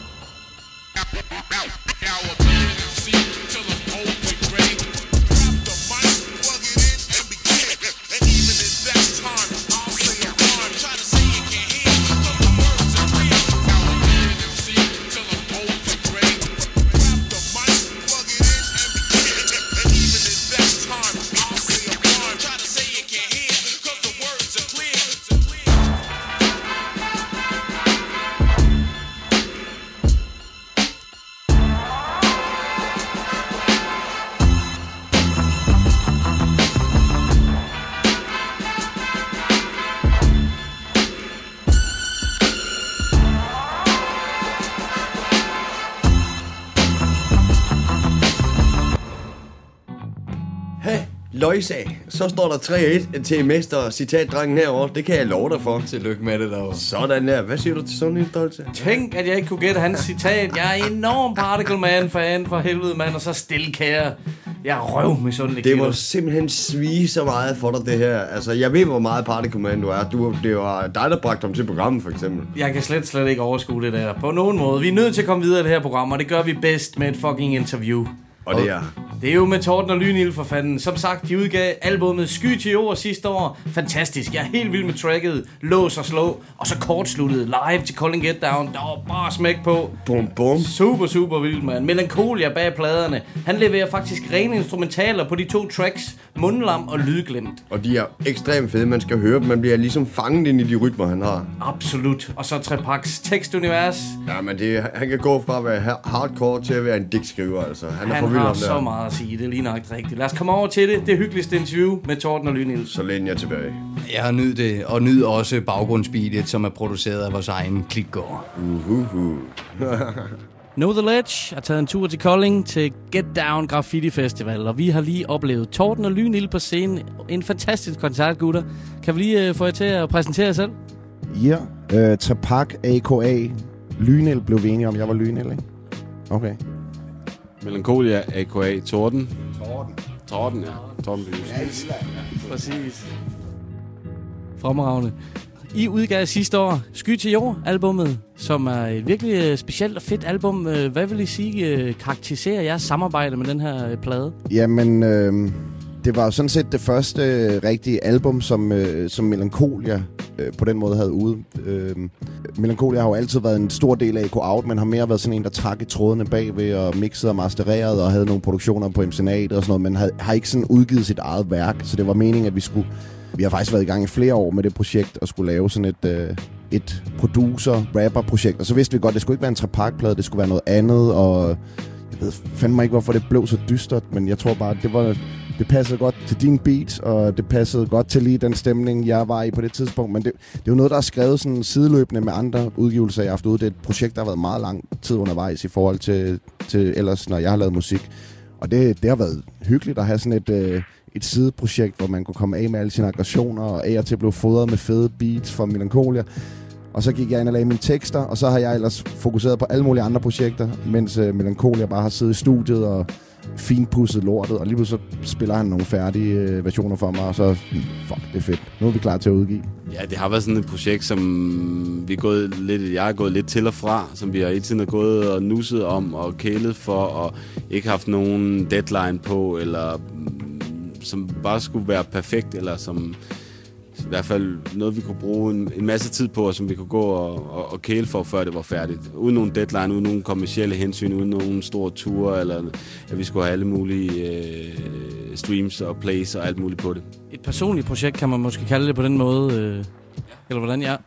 Løjsa, så står der tre et til mester citatdrengen herovre. Det kan jeg love dig for. Tillykke med det derovre. Sådan der. Hvad siger du til sådan en stolte? Tænk, at jeg ikke kunne gætte hans citat. Jeg er enorm Particle Man-fan for helvede, mand. Og så Still Care. Jeg er røv med sådan en Det må simpelthen svige så meget for dig, det her. Altså, jeg ved, hvor meget Party Commando er. Du, det var dig, der bragte dem til programmet, for eksempel. Jeg kan slet, slet ikke overskue det der. På nogen måde. Vi er nødt til at komme videre i det her program, og det gør vi bedst med et fucking interview. Og det er... Det er jo med Torben og Lynild for fanden. Som sagt, de udgav albumet Sky til jord sidste år. Fantastisk. Jeg er helt vild med tracket. Lås og slå. Og så kortsluttet live til Calling Get Down. Der var bare smæk på. Bum, bum. Super, super vildt, mand. Melancholia bag pladerne. Han leverer faktisk rene instrumentaler på de to tracks. Mundlam og Lydglemt. Og de er ekstremt fede. Man skal høre dem. Man bliver ligesom fanget ind i de rytmer, han har. Absolut. Og så Trepaks tekstunivers. Ja, men det, han kan gå fra at være hardcore til at være en digtskriver, altså. Han er Han for vild har om det. så meget at sige. Det er lige nok rigtigt. Lad os komme over til det. Det hyggeligste interview med Torben og Lynild. Så læn jeg tilbage. Jeg har nydt det, og nyd også baggrundsbeatet, som er produceret af vores egen klikgård. Uhuhu. Know The Ledge har taget en tur til Kolding til Get Down Graffiti Festival, og vi har lige oplevet Torben og Lynild på scenen. En fantastisk koncert, gutter. Kan vi lige uh, få jer til at præsentere jer selv? Ja, yeah. uh, Tapak, A K A. Lynild blev vi enige om, jeg var Lynild, ikke? Okay. Melancholia, A K A. Torben. Torben. Torben, ja. Torben Bys. Ja, præcis. Fremragende. I udgav sidste år Sky til jord albummet, som er et virkelig specielt og fedt album. Hvad vil I sige karakteriserer jeres samarbejde med den her plade? Jamen, øh, det var sådan set det første øh, rigtige album, som, øh, som Melancholia øh, på den måde havde ude. Øh, Melancholia har jo altid været en stor del af A K Out, men har mere været sådan en, der trak i trådene bagved og mixede og mastererede og havde nogle produktioner på M C N A T og sådan noget, men havde, har ikke sådan udgivet sit eget værk, så det var meningen, at vi skulle... Vi har faktisk været i gang i flere år med det projekt og skulle lave sådan et, øh, et producer-rapper-projekt. Og så vidste vi godt, at det skulle ikke være en trepakplade, det skulle være noget andet. Og jeg ved fandme ikke, hvorfor det blev så dystert, men jeg tror bare, det var det passede godt til din beat, og det passede godt til lige den stemning, jeg var i på det tidspunkt. Men det, det er jo noget, der er skrevet sådan sideløbende med andre udgivelser, jeg har haft ude. Det er et projekt, der har været meget lang tid undervejs i forhold til, til ellers, når jeg har lavet musik. Og det, det har været hyggeligt at have sådan et... Øh, et sideprojekt, hvor man kunne komme af med alle sine aggressioner, og af og til blev fodret med fede beats fra Melancholia. Og så gik jeg ind og lagde mine tekster, og så har jeg ellers fokuseret på alle mulige andre projekter, mens uh, Melancholia bare har siddet i studiet og finpudset lortet, og lige pludselig så spiller han nogle færdige uh, versioner for mig, og så, fuck, det er fedt. Nu er vi klar til at udgive. Ja, det har været sådan et projekt, som vi er gået lidt, jeg er gået lidt til og fra, som vi har hele tiden gået og nusset om og kælet for, og ikke haft nogen deadline på, eller som bare skulle være perfekt, eller som i hvert fald noget, vi kunne bruge en, en masse tid på, og som vi kunne gå og, og, og kæle for, før det var færdigt. Uden nogen deadline, uden nogen kommercielle hensyn, uden nogen store ture, eller at vi skulle have alle mulige øh, streams og plays og alt muligt på det. Et personligt projekt kan man måske kalde det på den måde, øh, eller hvordan jeg...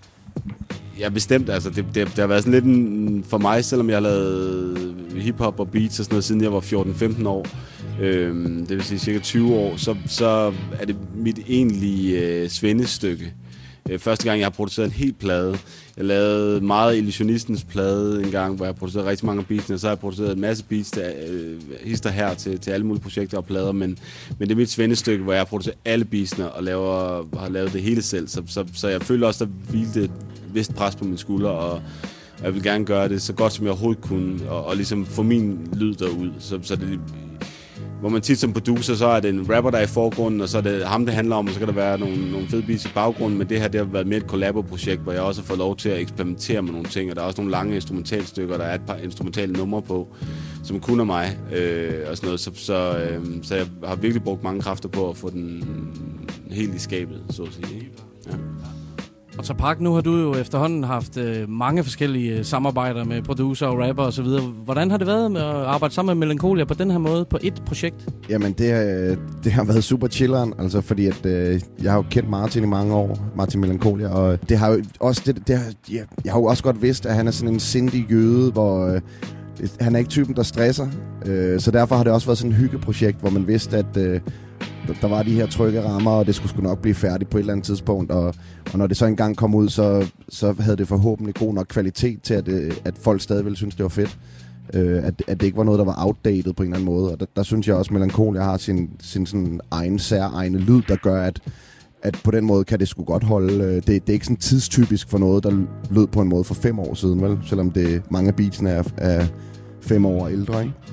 Ja, bestemt. Altså, det, det, det har været sådan lidt en, for mig, selvom jeg har lavet hiphop og beats og sådan noget, siden jeg var fjorten femten år, øhm, det vil sige cirka tyve år, så, så er det mit egentlige øh, svendestykke. Øh, første gang, jeg har produceret en hel plade. Jeg lavede meget Illusionistens plade en gang, hvor jeg producerede rigtig mange beats, og så har jeg produceret en masse beats, der øh, hister her til, til alle mulige projekter og plader, men, men det er mit svendestykke, hvor jeg har produceret alle beatsene og laver, har lavet det hele selv, så, så, så jeg føler også, der hvilte et vist pres på mine skuldre, og, og jeg vil gerne gøre det så godt, som jeg overhovedet kunne, og, og ligesom få min lyd derud, så, så det... Hvor man tit som producer, så er det en rapper, der er i forgrunden, og så er det ham, det handler om, og så kan der være nogle, nogle fede beats i baggrunden, men det her, det har været mere et collabo-projekt, hvor jeg også har fået lov til at eksperimentere med nogle ting, og der er også nogle lange instrumentalstykker, der er et par instrumentale numre på, som kun er mig, øh, og sådan noget, så, så, øh, så jeg har virkelig brugt mange kræfter på at få den helt i skabet, så at sige. Ja. Og så Park, nu har du jo efterhånden haft øh, mange forskellige øh, samarbejder med producer og rapper og så videre. Hvordan har det været med at arbejde sammen med Melancholia på den her måde på et projekt? Jamen, det, det har været super chilleren, altså fordi at øh, jeg har jo kendt Martin i mange år, Martin Melancholia, og det har jo også det, det har, ja, jeg har jo også godt vidst, at han er sådan en sindig jøde, hvor øh, han er ikke typen, der stresser, øh, så derfor har det også været sådan et hyggeprojekt, hvor man vidste, at øh, der var de her trygge rammer, og det skulle sgu nok blive færdigt på et eller andet tidspunkt, og, og når det så engang kom ud, så, så havde det forhåbentlig god nok kvalitet til, at, at folk stadig ville synes, det var fedt. Øh, at, at det ikke var noget, der var outdated på en eller anden måde, og der, der synes jeg også, at Melancholia har sin, sin sådan egen særegne lyd, der gør, at, at på den måde kan det sgu godt holde. Det, det er ikke sådan tidstypisk for noget, der lød på en måde for fem år siden, vel? Selvom det mange af beatsene er, er fem år ældre, ikke?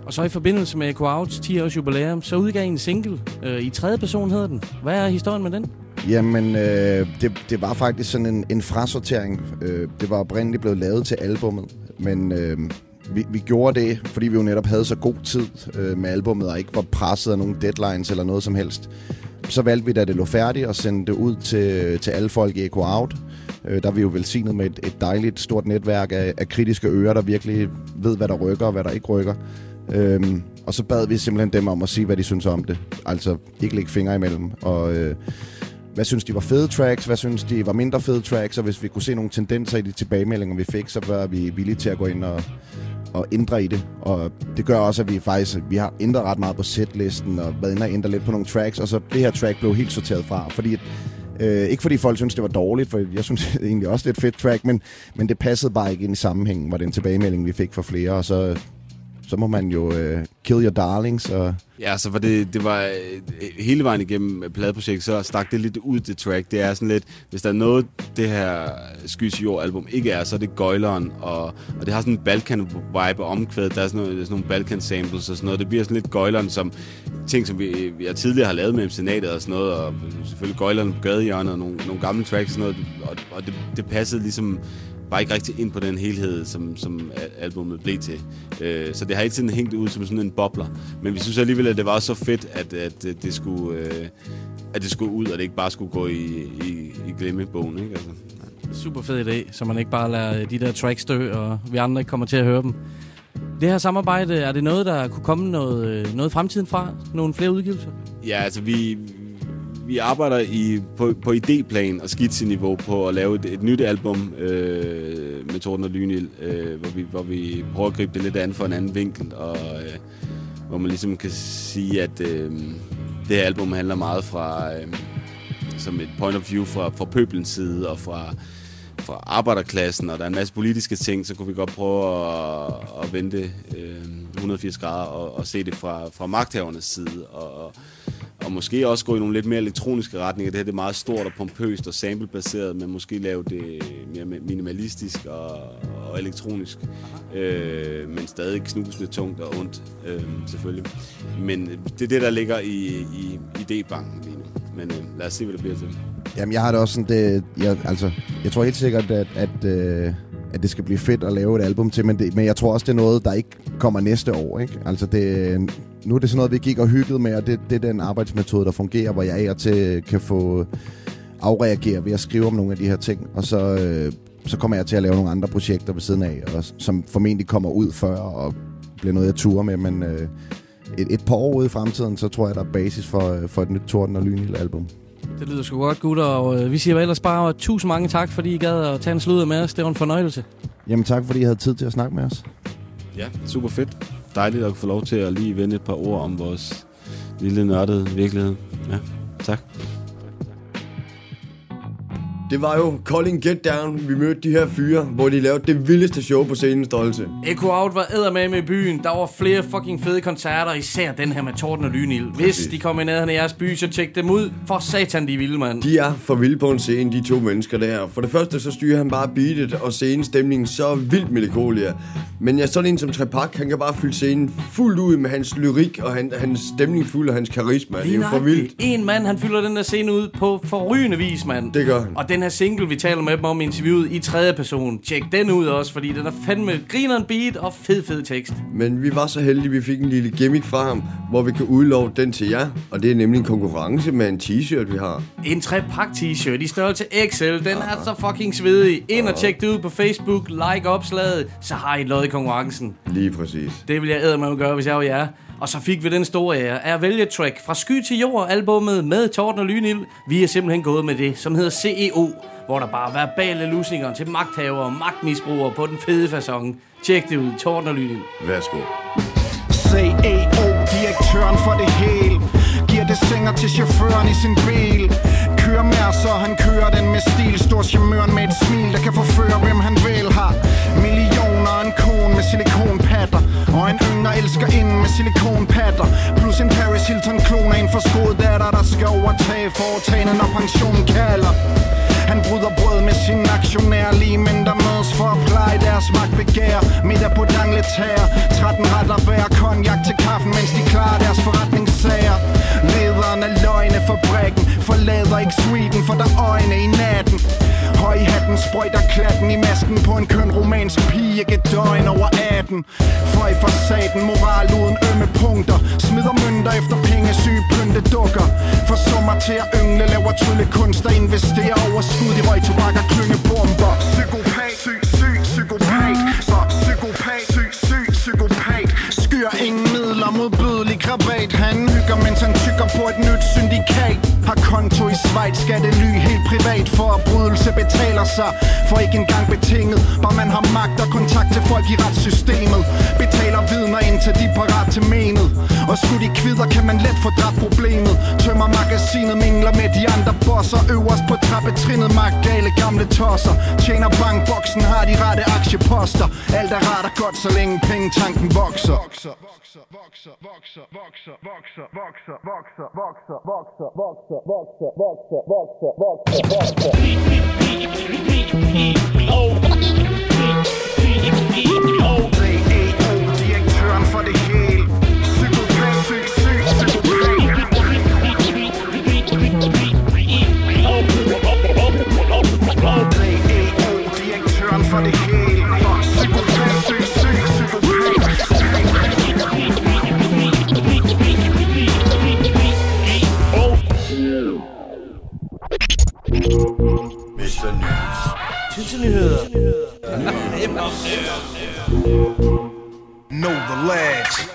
Og så i forbindelse med Echo Outs ti års jubilæum, så udgav I en single. Øh, I tredje person hedder den. Hvad er historien med den? Jamen, øh, det, det var faktisk sådan en, en frasortering. Øh, det var oprindeligt blevet lavet til albummet, men øh, vi, vi gjorde det, fordi vi jo netop havde så god tid øh, med albummet, og ikke var presset af nogle deadlines eller noget som helst. Så valgte vi, da det lå færdigt, at sende det ud til, til alle folk i Echo Out. Øh, der er vi jo velsignet med et, et dejligt stort netværk af, af kritiske ører, der virkelig ved, hvad der rykker og hvad der ikke rykker. Øh, og så bad vi simpelthen dem om at sige, hvad de synes om det. Altså ikke lægge fingre imellem. Og øh, hvad synes de var fede tracks, hvad synes de var mindre fede tracks, og hvis vi kunne se nogle tendenser i de tilbagemeldinger, vi fik, så var vi villige til at gå ind og, og ændre i det. Og det gør også, at vi faktisk vi har ændret ret meget på setlisten og været inde og ændre lidt på nogle tracks, og så det her track blev helt sorteret fra, fordi øh, ikke fordi folk synes det var dårligt, for jeg synes egentlig også det er et fedt track, men, men det passede bare ikke ind i sammenhængen, var den tilbagemelding, vi fik fra flere, og så så må man jo uh, kill your darlings. Og ja, så for det, det var hele vejen igennem pladeprojektet, så stak det lidt ud, det track. Det er sådan lidt, hvis der er noget, det her Skys Jord-album ikke er, så er det gøjleren, og, og det har sådan en Balkan-vibe omkvædet. Der er sådan, noget, der er sådan nogle Balkan-samples og sådan noget. Det bliver sådan lidt gøjleren, som ting, som vi, jeg tidligere har lavet med Senatet og sådan noget, og selvfølgelig gøjleren på gadehjørnet og nogle, nogle gamle tracks og sådan noget, og, og det, det passede ligesom bare ikke rigtig ind på den helhed, som, som albumet blev til. Øh, så det har ikke sådan hængt ud som sådan en bobler. Men vi synes alligevel, at det var så fedt, at, at, det, skulle, øh, at det skulle ud, og det ikke bare skulle gå i, i, i glemmebogen. Ikke? Altså, ja. Super fed idé, så man ikke bare lader de der tracks dø, og vi andre ikke kommer til at høre dem. Det her samarbejde, er det noget, der kunne komme noget, noget fremtiden fra? Nogle flere udgivelser? Ja, altså vi... Vi arbejder i, på, på idéplan og skitseniveau på at lave et, et nyt album øh, med Torden og Lynild, øh, hvor, vi, hvor vi prøver at gribe det lidt an for en anden vinkel, og øh, hvor man ligesom kan sige, at øh, det her album handler meget fra øh, som et point of view fra, fra pøbelens side og fra, fra arbejderklassen, og der er en masse politiske ting, så kunne vi godt prøve at, at vende øh, et hundrede og firs grader og, og se det fra, fra magthavernes side, og Og måske også gå i nogle lidt mere elektroniske retninger. Det her det er meget stort og pompøst og samplebaseret, men måske lave det mere minimalistisk og, og elektronisk. Øh, men stadig knusende tungt og ondt, øh, selvfølgelig. Men det er det, der ligger i, i idébanken lige nu. Men øh, lad os se, hvad det bliver til. Jamen, jeg har det også sådan, det, jeg, altså, jeg tror helt sikkert, at, at, øh, at det skal blive fedt at lave et album til, men, det, men jeg tror også, det er noget, der ikke kommer næste år, ikke? Altså, det, nu er det sådan noget, vi gik og hyggede med, og det, det er den arbejdsmetode, der fungerer, hvor jeg af og til kan få afreagere ved at skrive om nogle af de her ting, og så, øh, så kommer jeg til at lave nogle andre projekter ved siden af, og, som formentlig kommer ud før, og bliver noget, jeg turer med, men øh, et, et par år ude i fremtiden, så tror jeg, der er basis for, for et nyt Torden og Lynild album. Det lyder sgu godt, gutter, og øh, vi siger ellers bare tusind mange tak, fordi I gad at tage en sludder med os. Det var en fornøjelse. Jamen tak, fordi I havde tid til at snakke med os. Ja, super fedt. Dejligt at få lov til at lige vende et par ord om vores lille nørdede virkelighed. Ja, tak. Det var jo Calling Get Down. Vi mødte de her fyre, hvor de lavede det vildeste show på scenens størrelse. Echo Out var eddermame i byen. Der var flere fucking fede koncerter, især den her med Torden og Lynild. Hvis de kommer i nærheden af jeres by, så tjek dem ud. For satan, de er vilde, mand. De er for vilde på en scene, de to mennesker der. For det første, så styrer han bare beatet og scenestemningen så vildt melankolia. Men ja, sådan en som Trepak, han kan bare fylde scenen fuldt ud med hans lyrik og han, hans stemning fuld af hans karisma. Det er jo for vildt. En mand, han fylder den der scene ud på forrygende vis, mand. Det gør han. Og den her single, vi taler med dem om i interviewet i tredje person. Tjek den ud også, fordi den er fandme grineren beat og fed, fed tekst. Men vi var så heldige, vi fik en lille gimmick fra ham, hvor vi kan udlove den til jer. Og det er nemlig en konkurrence med en t-shirt, vi har. En tre-pak t-shirt i størrelse X L. Den ah. er så fucking svedig. Ind og tjek det ud på Facebook. Like opslaget. Så har I lod i konkurrencen. Lige præcis. Det vil jeg eddermame gøre, hvis jeg var jer. Og så fik vi den store ære af at vælge track fra Sky til Jord albumet med Torden og Lynild. Vi er simpelthen gået med det, som hedder C E O, hvor der bare er verbale lusninger til magthavere og magtmisbrugere på den fede facon. Tjek det ud, Torden og Lynild. Værsgo. C E O, direktøren for det hele, giver det sænger til chaufføren i sin bil. Kører mere, så han kører den med stil. Stor charmøren med et smil, der kan forføre hvem han vil. Har millioner, en kone med silikonpatter, og en yngre elsker ind med silikonpatter. Plus en Paris Hilton klon af en forskåret datter, der skal overtage foretagene, når pensionen kalder. Han bryder brød med sin aktionær, lige men der mødes for at pleje deres magtbegær. Middag på Dangletær, tretten retter hver, konjak til kaffen, mens de klarer deres forretningssager. Lederen af løgnefabrikken forlader ikke Sweden, for der er øjne i natten. Høj i hatten sprøjter klatten i masken på en køn romansk pige, ikke et døgn over atten. For i facaden, moral uden ømme punkter, smider mønter efter pengesyge pynte dukker. Forsummer til at yngle, laver tryllekunst og investerer overskud i røg, tobak og klyngebomber. Psykopat, syg, syg, psykopat, så psykopat, syg, syg, psykopat. Skyr ingen midler, modbydelig krabat. Han hygger, mens han tykker på et nyt syndikat. Har konto i Schweiz, skattely helt privat. Forbrydelse betaler sig, for ikke engang betinget. Bare man har magt og kontakt til folk i retssystemet. Betaler vidner indtil de er parat til menet. Og skulle de kvider, kan man let få dræbt problemet. Tømmer magasinet, mingler med de andre bosser. Øverst på trappetrinnet, magtgale gamle tosser. Tjener bankboksen, har de rette aktieposter. Alt er ret og godt, så længe pengetanken vokser. Vokser, vokser, vokser, vokser, vokser, vokser, vokser, vokser, vokser, vokser, vokser, vokser, vokser, vokser, vokser, vokser. Direktøren for det hele. Psykopat, syg, syg, psykopat. Direktøren for det hele. Psykopat, syg, syg, psykopat. mister News. Tidsnyheder. Know the lads.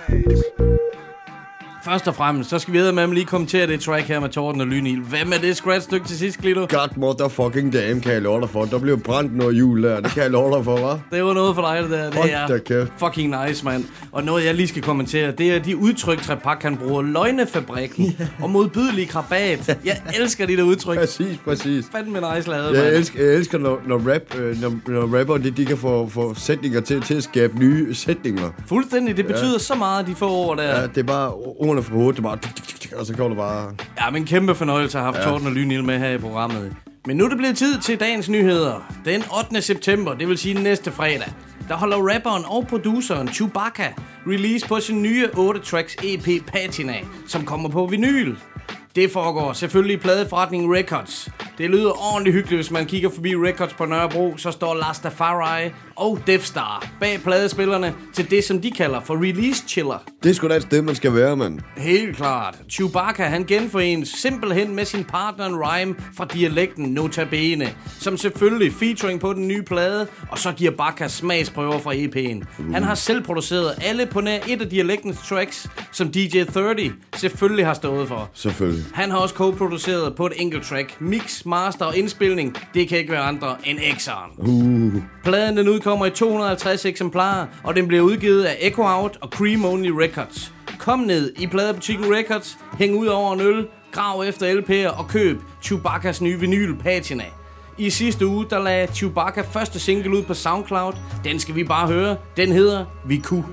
Først og fremmest, så skal vi med at lige kommentere det track her med Torten og Lynil. Hvem er det scratch-stykke til sidst, Glito? God motherfucking damn, kan jeg love dig for. Der blev brændt noget jul der, det kan jeg love dig for, hva'? Det var noget for dig, det der. Det Hold er da kæft. fucking nice, mand. Og noget, jeg lige skal kommentere, det er de udtryk, Trepak han bruger. Løgnefabrikken og modbydelig krabat. Jeg elsker de der udtryk. Præcis, præcis. Fandme nice lavet, Jeg mand. elsker, jeg elsker når, når, rap, øh, når, når rapper, de, de kan få, få sætninger til, til at skabe nye sætninger. Fuldstændig, det betyder Ja. så meget, de få ord der. Ja, det er bare ordene fra hovedet, det er bare... Og så går det bare... Ja, men kæmpe fornøjelse at have haft Ja. Torten og Lynil med her i programmet. Men nu er det blevet tid til dagens nyheder. Den ottende september, det vil sige næste fredag, der holder rapperen og produceren Chewbacca release på sin nye otte tracks E P Patina, som kommer på vinyl. Det foregår selvfølgelig i pladeforretningen Records. Det lyder ordentligt hyggeligt, hvis man kigger forbi Records på Nørrebro, så står Lastafari og Death Star bag pladespillerne til det, som de kalder for release chiller. Det er sgu da et sted, man skal være, mand. Helt klart. Chewbacca, han genforenes simpelthen med sin partner Rhyme fra dialekten Nota Bene, som selvfølgelig featuring på den nye plade, og så giver Bacca smagsprøver fra E P'en. Uh. Han har selv produceret alle på nær et af dialektens tracks, som D J tredive selvfølgelig har stået for. Selvfølgelig. Han har også co-produceret på et enkelt track. Mix, master og indspilning, det kan ikke være andre end X'eren. Uh. Pladen den udkommer i to hundrede og halvtreds eksemplarer, og den bliver udgivet af Echo Out og Cream Only Records. Kom ned i pladebutikken Records, hæng ud over en øl, grav efter L P'er og køb Chewbaccas nye vinyl Patina. I sidste uge, der lagde Chewbacca første single ud på SoundCloud. Den skal vi bare høre. Den hedder Vi Kunne.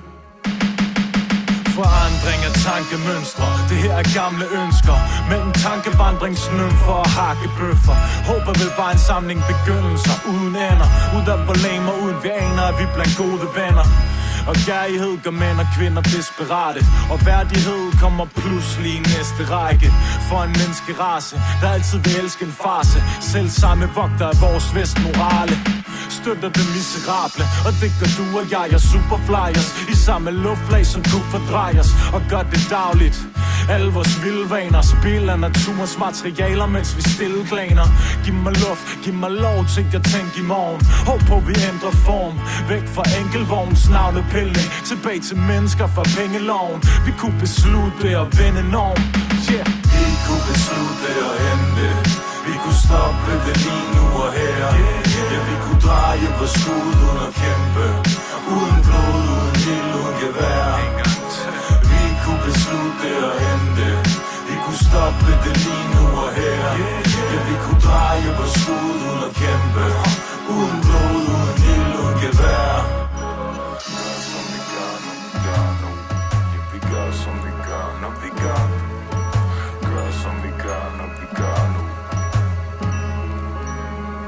Forandring af tankemønstre, det her er gamle ønsker. Mellem tankevandringsnøm for at hakke bøffer. Håber vel bare en samling begyndelser uden ender. Uden problemer, uden vi aner, at vi blandt gode venner. Og kærlighed gør mænd og kvinder desperate. Og værdighed kommer pludselig i næste række. For en menneskerace, der altid vil elske en farse. Selv samme vogter af vores vestmorale. Støtter det miserable, og det gør du og jeg, er superflyers. I samme luftlag som du fordrejes, og gør det dagligt. Alle vores vildvaner, spil af naturens materialer, mens vi stille glaner. Giv mig luft, giv mig lov til at tænke i morgen. Håb på vi ændrer form, væk fra enkeltvogns navnepilning. Tilbage til mennesker fra pengeloven. Vi kunne beslutte at vende norm, yeah. Vi kunne beslutte at hente. Vi kunne stoppe det lige nu og her. Ja, vi kunne dreje på skud uden at kæmpe. Uden blod, uden ild, uden gevær. Vi kunne beslutte at hente. Vi kunne stoppe det lige nu og her. Ja, vi kunne dreje på skud uden at kæmpe. Uden blod, uden ild, uden gevær. Gør som vi gør, når vi gør nu. Ja, vi gør som vi gør, når vi gør. Gør som vi gør, når vi gør nu.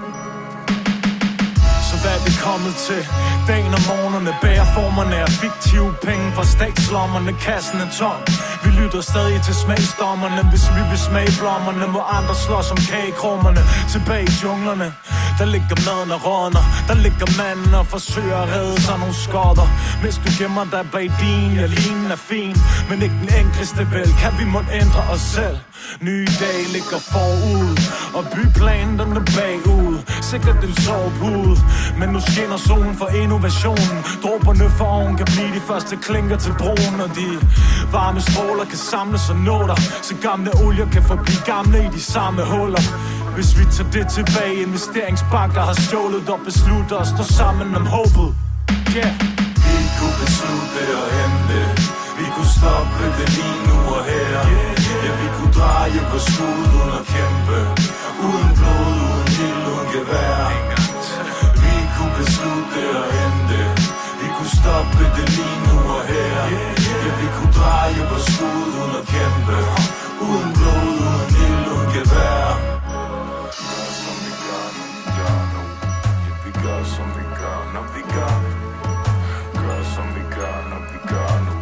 kommet til. Dagen og morgenerne bærer formerne af fiktive penge fra statslommerne. Kassen er tom. Vi lytter stadig til smagsdommerne. Hvis vi vil smage blommerne, må andre slås om kagekrummerne. Tilbage i junglerne, der ligger maden og rådner. Der ligger manden og forsøger at redde sig nogle skotter. Hvis du gemmer dig bag din, ja, linen er fin, men ikke den enkleste vel. Kan vi må ændre os selv. Nye dage ligger forud, og byplanen den er bagud. Sikkert en sovepude, men nu skinner solen for innovationen. Dråberne for oven kan blive de første klinker til broen, og de varme stråler kan samles og nå dig, så gamle olier kan forblive gamle i de samme huller. Hvis vi tager det tilbage, investeringsbanker har stjålet og beslutter at stå sammen om håbet. Yeah. Vi kunne beslutte og hente, vi kunne stoppe det lige nu og her. Ja, vi kunne dreje på skud uden at kæmpe, uden blod, uden ild, uden gevær. Vi kunne beslutte og hente, vi kunne stoppe det lige nu og her. Ja, vi kunne dreje på skud uden at kæmpe, uden blod, uden ild, uden gevær. Gør som vi gør, når vi gør. Gør som vi gør, når vi gør nu.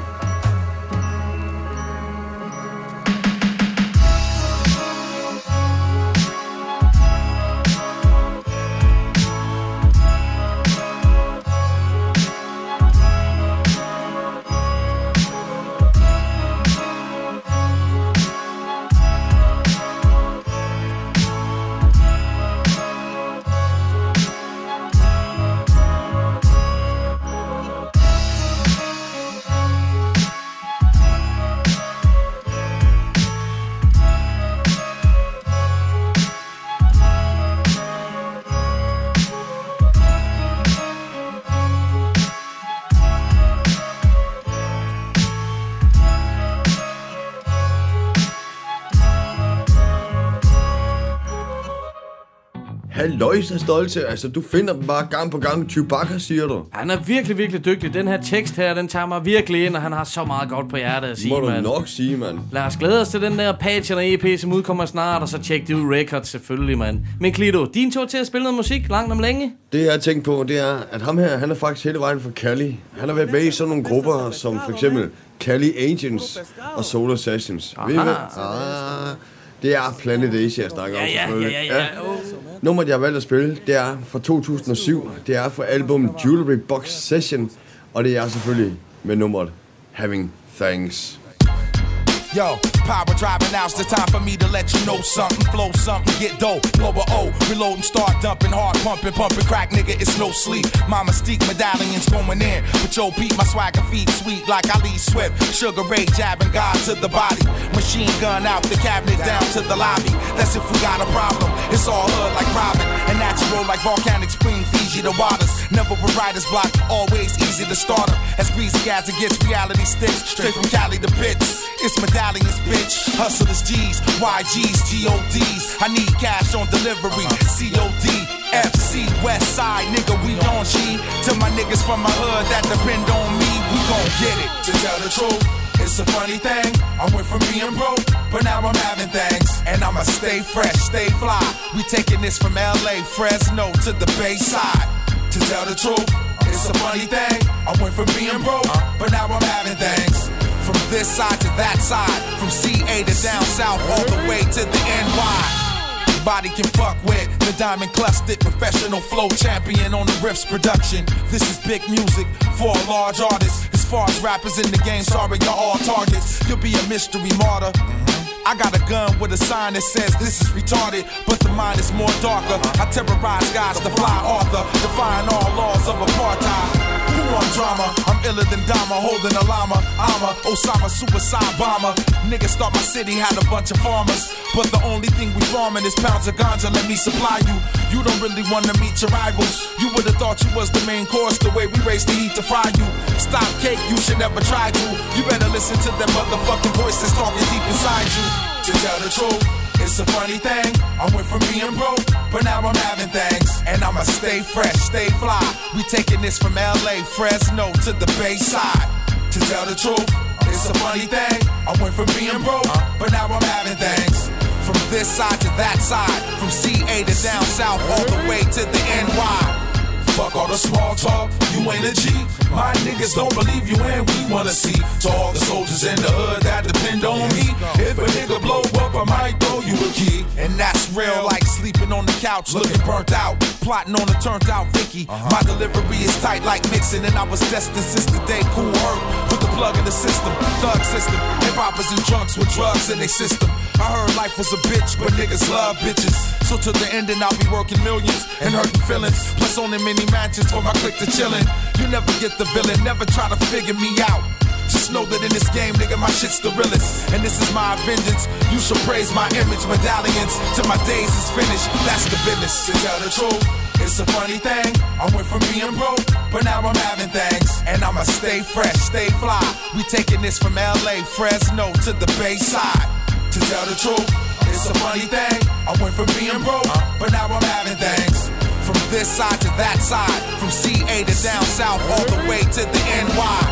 Halløjs er stolte. Altså, du finder dem bare gang på gang. Chewbacca, siger du. Han er virkelig, virkelig dygtig. Den her tekst her, den tager mig virkelig ind, og han har så meget godt på hjertet at sige, Må du man. nok sige, mand. Lad os glæde os til den der Patchen og E P, som udkommer snart, og så tjek det ud Records selvfølgelig, mand. Men Klito, din tur til at spille noget musik langt om længe? Det jeg har tænkt på, det er, at ham her, han er faktisk hele vejen fra Cali. Han har været med i sådan nogle grupper, som for eksempel Cali Agents og Solar Sessions. Ved I hvad? Ah, det er Planet Asia, jeg snakker ja, om, ja, selvfølgelig. Ja, ja, ja. Oh. Nummeret, jeg har valgt at spille, det er fra to tusind og syv. Det er fra albumet Jewelry Box Session, og det er selvfølgelig med nummeret Having Thanks. Yo, power driving out's the time for me to let you know something. Flow something, get dope, blow a O. Reload and start dumping, hard pumping, pumping crack, nigga, it's no sleep. My mystique medallions going in. But yo, beat my swagger feet sweet like Ali Swift. Sugar Ray jabbing God to the body. Machine gun out the cabinet down to the lobby. That's if we got a problem. It's all hood like Robin. And natural like volcanic spring Fiji the waters. Never with writer's block, always easy to start her. As greasy as it gets, reality sticks. Straight from Cali to Pitts. It's medallions, bitch. Hustlers G's, Y G's, G O D's. I need cash on delivery. C O D, F C, West Side, nigga, we on G. To my niggas from my hood that depend on me, we gon' get it. To tell the truth, it's a funny thing. I went from being broke, but now I'm having things. And I'ma stay fresh, stay fly. We taking this from L A, Fresno to the Bay Side. To tell the truth, it's a funny thing. I went from being broke, but now I'm having things. From this side to that side, from C A to down south, all the way to the N Y. Body can fuck with the diamond clustered professional flow champion on the Riffs production. This is big music for a large artist. As far as rappers in the game, sorry, you're all targets. You'll be a mystery martyr. I got a gun with a sign that says this is retarded, but the mind is more darker. I terrorize guys to fly Arthur, defying all laws of apartheid. Who want drama? I'm iller than Dama, holding a llama. I'm a Osama suicide bomber. Niggas thought my city had a bunch of farmers, but the only thing we farming is pounds of ganja. Let me supply you. You don't really want to meet your rivals. You would've thought you was the main course, the way we raise the heat to fry you. Stop cake, you should never try to. You better listen to them motherfucking voices talking deep inside you. To tell the truth, it's a funny thing. I went from being broke, but now I'm having things. And I'ma stay fresh, stay fly. We taking this from L A, Fresno to the Bay Side. To tell the truth, it's a funny thing. I went from being broke, but now I'm having things. From this side to that side, from C A to down south, all the way to the N Y. Fuck all the small talk, you ain't a G. My niggas don't believe you and we wanna see. To all the soldiers in the hood that depend on me. If a nigga blow up, I might throw you a key. And that's real, like sleeping on the couch, looking burnt out. Plotting on a turned out Vicky. Uh-huh. My delivery is tight like mixing, and I was destined since the day Cool Herc put the plug in the system. Thug system, hip-hoppers and drunks with drugs in their system. I heard life was a bitch, but niggas love bitches. So to the ending, I'll be working millions and hurting feelings. Plus owning many mansions for my clique to chillin'. You never get the villain, never try to figure me out. Just know that in this game, nigga, my shit's the realest. And this is my vengeance. You should praise my image medallions till my days is finished. That's the business. To tell the truth, it's a funny thing. I went from being broke, but now I'm having things. And I'ma stay fresh, stay fly. We taking this from L A, Fresno to the Bay Side. To tell the truth, it's a funny thing. I went from being broke, but now I'm having things. From this side to that side, from C A to down south, all the way to the N Y.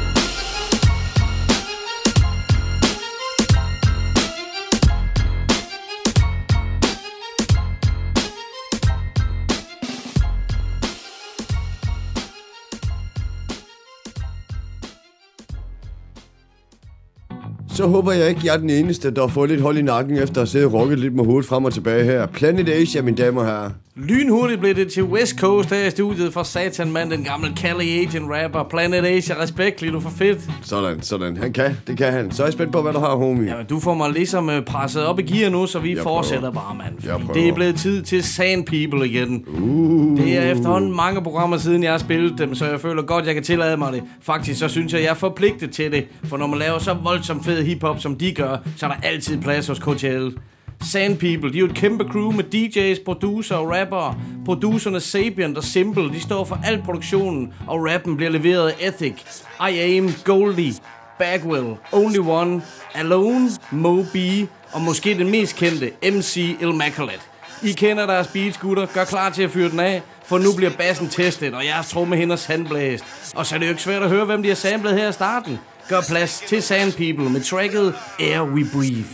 Så håber jeg ikke, jeg er den eneste, der har fået lidt hold i nakken efter at sidde og rocket lidt med hovedet frem og tilbage her. Planet Asia, mine damer og herrer. Lynhurtigt blev det til West Coast her i studiet for Satan, mand, den gamle Caliagent rapper. Planet Asia, respekt, lige du for fedt. Sådan, sådan. Han kan, det kan han. Så er jeg spændt på, hvad du har, homie. Ja, du får mig ligesom uh, presset op i gear nu, så vi jeg fortsætter prøver. bare, mand. Fordi det er blevet tid til Sand People igen. Uh. Det er efterhånden mange programmer siden, jeg har spillet dem, så jeg føler godt, jeg kan tillade mig det. Faktisk så synes jeg, jeg er forpligtet til det. For når man laver så voldsomt fed hiphop, som de gør, så er der altid plads hos K T L. Sand People, de er jo et kæmpe crew med D J's, producer og rappere. Producerne Sapient og Simple, de står for al produktionen, og rappen bliver leveret af Ethic, I Aim, Goldie, Bagwell, Only One, Alone, Moby og måske den mest kendte, M C Immaculate. I kender deres beats, gutter. Gør klar til at fyre den af, for nu bliver bassen testet, og jeres trommehinder sandblæst. Og så er det jo ikke svært at høre, hvem de har samlet her i starten. Gør plads til Sand People med tracket Air We Breathe.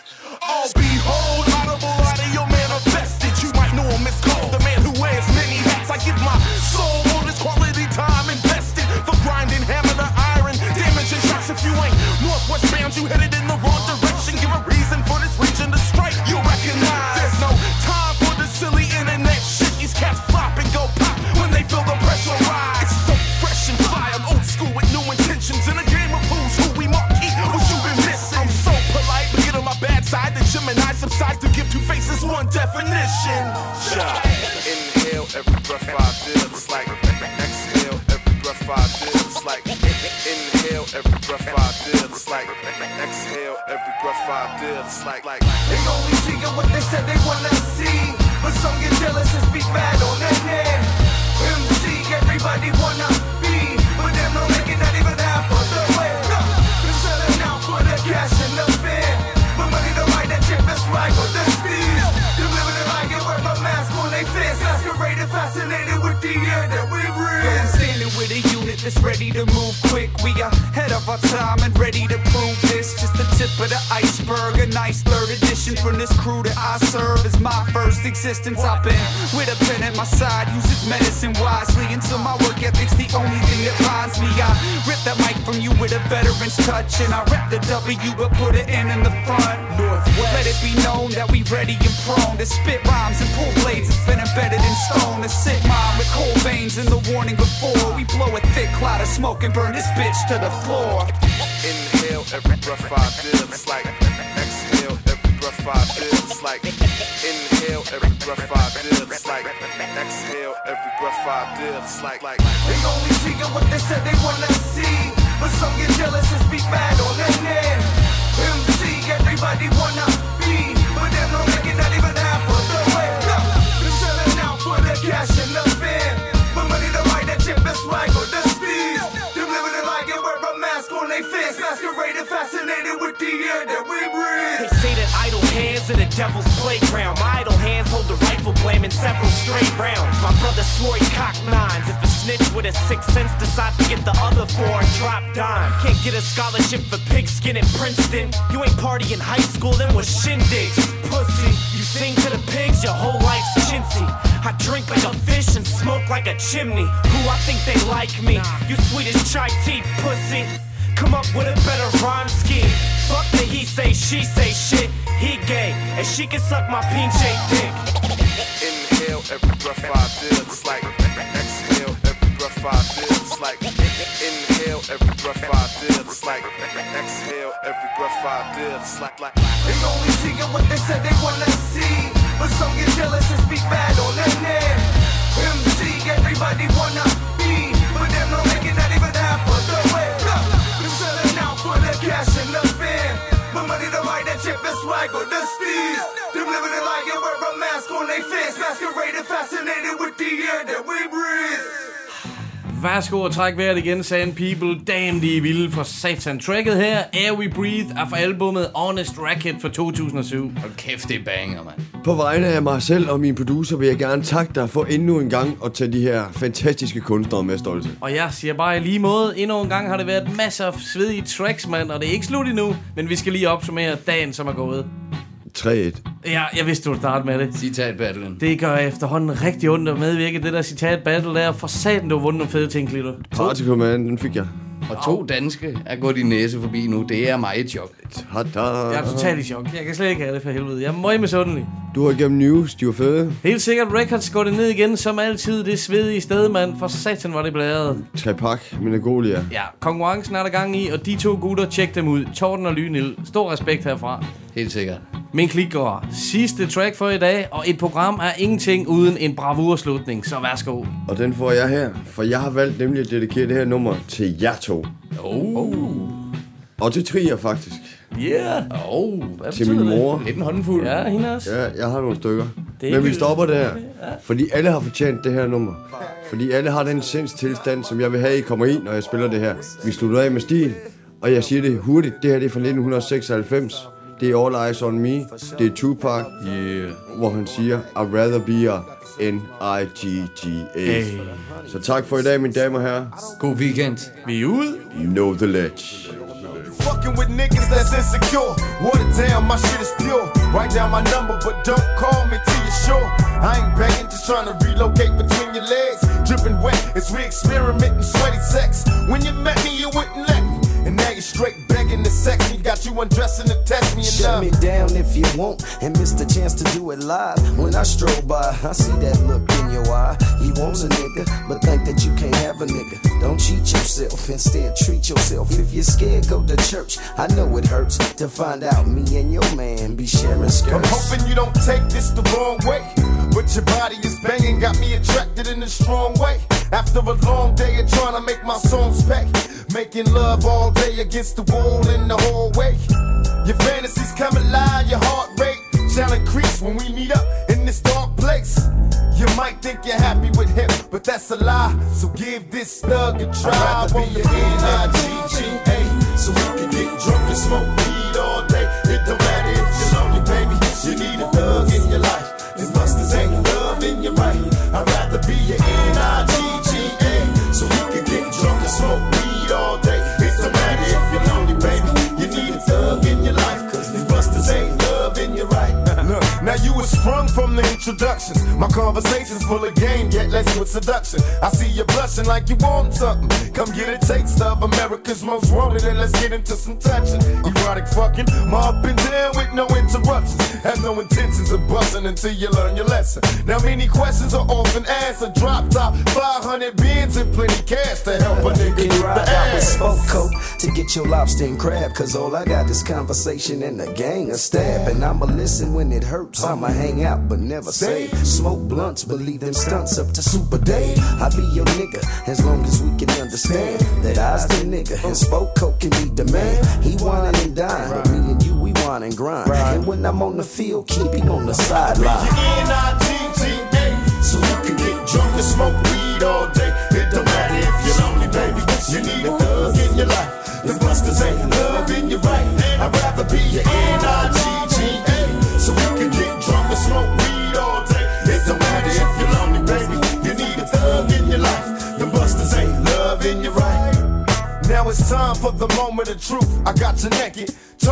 Oh, behold, audible audio manifested. You might know him as called the man who wears many hats. I give my soul all this quality time invested for grinding hammer to iron, damaging shots. If you ain't northwest bound, you headed in the wrong direction. Give a reason for this region to strike. You recognize there's no time for the silly internet shit. These cats flop and go pop when they feel the pressure rise. It's so fresh and fly. I'm old school with new intentions in a game of who's who we marquee. What you been missing? I'm so polite, but get on my bad side. The Gemini subsides to give two faces one definition. Yeah. Inhale every breath I deal. It's like exhale every breath I deal. It's like inhale every breath I deal. It's like exhale every breath I deal. It's like like they only see what they said they wanna see, but some get jealous and speak bad on their name. M C everybody wanna be, but them no make it not even half of the way. They're selling out for the cash and the fame, but money to buy that chip is right with the steez. They're living it like it, wear my mask on they face. Masqueraded, fascinated with the air that we breathe. I'm standing with a unit that's ready to move quick. We are ahead of our time and ready to prove this. Just the tip of the iceberg, a nice third edition from this crew that I serve. Is my first existence. I've been with a pen at my side, use its medicine wisely. Until my work ethic's the only thing that binds me. I rip that mic from you with a veteran's touch, and I rep the W but put an N in the front. Northwest. Let it be known that we ready and prone to spit rhymes and pull blades that's been embedded in stone. A sick mind with cold veins and the warning before we blow a thick cloud of smoke and burn this bitch to the floor. Inhale every breath I deal. It's like exhale every breath I deal. It's like inhale every breath I deal. It's like exhale every breath I deal. It's like like they only see what they said they wanna see, but some get jealous and speak bad on their name. M C everybody wanna be, but them no make it not even half of the way. They're selling out for the cash and the fame, but money to buy that chip is right with the steez. They're living it like it, wear a mask on their face. Masqueraded, fascinated with the air that we breathe. They say that idle hands in the devil's playground. My idle hands hold the rifle blame in several straight rounds. My brother swore he cocked nines. If a snitch with a sixth sense decides to get the other four and drop dime, can't get a scholarship for pigskin at Princeton. You ain't party in high school, then was shindigs. Pussy. You sing to the pigs, your whole life's chintzy. I drink like a fish and smoke like a chimney. Who I think they like me? You sweet as chai tea, pussy. Come up with a better rhyme scheme. Fuck the he say, she say shit. He gay, and she can suck my pinche dick. Inhale every breath I feel, it's like exhale every breath I feel, it's like inhale every breath I feel, it's like exhale every breath I feel, it's like like. They only seeing what they said they wanna see, but some get jealous and speak bad on their name. M C, everybody wanna be, but them no making not even half of the way. Them selling out for the cash and the fame, but money to buy that chip and swag or the steez. Them living it like it wear a mask on their face, masqueraded, fascinated with the air that we breathe. Værsgo og træk vejret igen, Sand People. Damn, de er vilde for satan. Tracket her, Air We Breathe, er fra albumet Honest Racket fra to tusind og syv. Hold kæft, det er banger, mand. På vegne af mig selv og min producer vil jeg gerne takke dig for endnu en gang at tage de her fantastiske kunstnere med stolte. Og jeg siger bare i lige måde, endnu en gang har det været masser af svedige tracks, mand. Og det er ikke slut endnu, men vi skal lige opsummere dagen, som er gået. tre et. Ja, jeg vidste, du ville starte med det. Citat-battlen. Det gør efterhånden rigtig ondt at medvirke det der citat-battle der. For satan, du har vundet nogle fede ting, Klito. Particle Man, den fik jeg. Og to danske er gået din næse forbi nu. Det er mig et chok. Tada. Jeg er totalt i chok. Jeg kan slet ikke have det for helvede. Jeg er møg misundelig. Du har gennem news, de var fede. Helt sikkert, Records går det ned igen, som altid. Det svedige sted, mand. For satan var det blæret. Trepak, Minagolia. Ja, konkurrencen er der gang i, og de to gutter, tjek dem ud. Torten og Lynil. Stor respekt herfra. Helt sikkert. Min klik går. Sidste track for i dag, og et program er ingenting uden en bravurslutning, så værsgo. Og den får jeg her, for jeg har valgt nemlig at dedikere det her nummer til jer to. Oh. Og til Trier, faktisk. Yeah. Oh, til min mor. Lidt en håndfuld. Ja, hende også. Ja, jeg har nogle stykker. Det Men vi vil... stopper der, ja. fordi alle har fortjent det her nummer. Fordi alle har den sindstilstand, som jeg vil have, I kommer i, når jeg spiller det her. Vi slutter af med stil, og jeg siger det hurtigt. Det her det er fra nitten seksoghalvfems. Det er All Eyes on Me. Det er Tupac, yeah. hvor han siger, I'd rather be a N I G G A. Hey. Så tak for i dag, mine damer og herrer. God weekend. Vi er ude. Know the ledge. Fucking with niggas that's insecure. Water down, my shit is pure. Write down my number, but don't call me till you're sure. I ain't begging, just trying to relocate between your legs. Dripping wet as we experiment in sweaty sex. When you met me, you wouldn't let me. And now you're straight begging to sex me. Got you undressing to test me and shut me down if you want and miss the chance to do it live. When I stroll by, I see that look in your eye. He wants a nigga, but think that you can't have a nigga. Don't cheat yourself, instead treat yourself. If you're scared, go to church. I know it hurts to find out me and your man be sharing skirts. I'm hoping you don't take this the wrong way, but your body is banging, got me attracted in a strong way. After a long day of trying to make my songs pay, making love all day against the wall in the hallway. Your fantasies come alive, your heart rate shall increase when we meet up in this dark place. You might think you're happy with him, but that's a lie. So give this thug a try. I'd rather be your N I G G A, so we can get drunk and smoke weed all day. It don't matter if you're lonely, baby. You need a thug in your life. These busters ain't love in your right. I'd rather be your N I G G A, so we can get drunk and smoke weed all day. It don't matter if you're lonely, baby. You need a thug in your life, cause these busters ain't love in your right. Look, now you were sprung from the introductions. My conversation's full of game, yet less with seduction. I see you blushing like you want something. Come get a taste of America's most wanted, and let's get into some touching. Erotic fucking, my up and down with no interruptions. Have no intentions of busting until you learn your lesson. Now many questions are often answered. Drop top, five hundred bins and plenty cash to help a nigga get ride the out with ass. Spoke Coat to get your lobster and crab, cause all I got is conversation and a gang of stab. And I'ma listen when it hurts, I'ma hang out but never say. Smoke blunts, believe them stunts up to Super Dave. I'll be your nigga as long as we can understand that I's the nigga and Spoke Coat can be the man. He wine and dine, but me and you we wine and grind. And when I'm on the field, keep him on the sideline. N I G G A, so you can get drunk and smoke weed all day. It don't matter if you're lonely, baby. You need a thug in your life. The busters ain't love in your right. I'd rather be your N I G G A, so we can get drunk and smoke weed all day. It don't matter if you're lonely, baby. You need a thug in your life. The busters ain't love in your right. Now it's time for the moment of truth. I got you naked, totally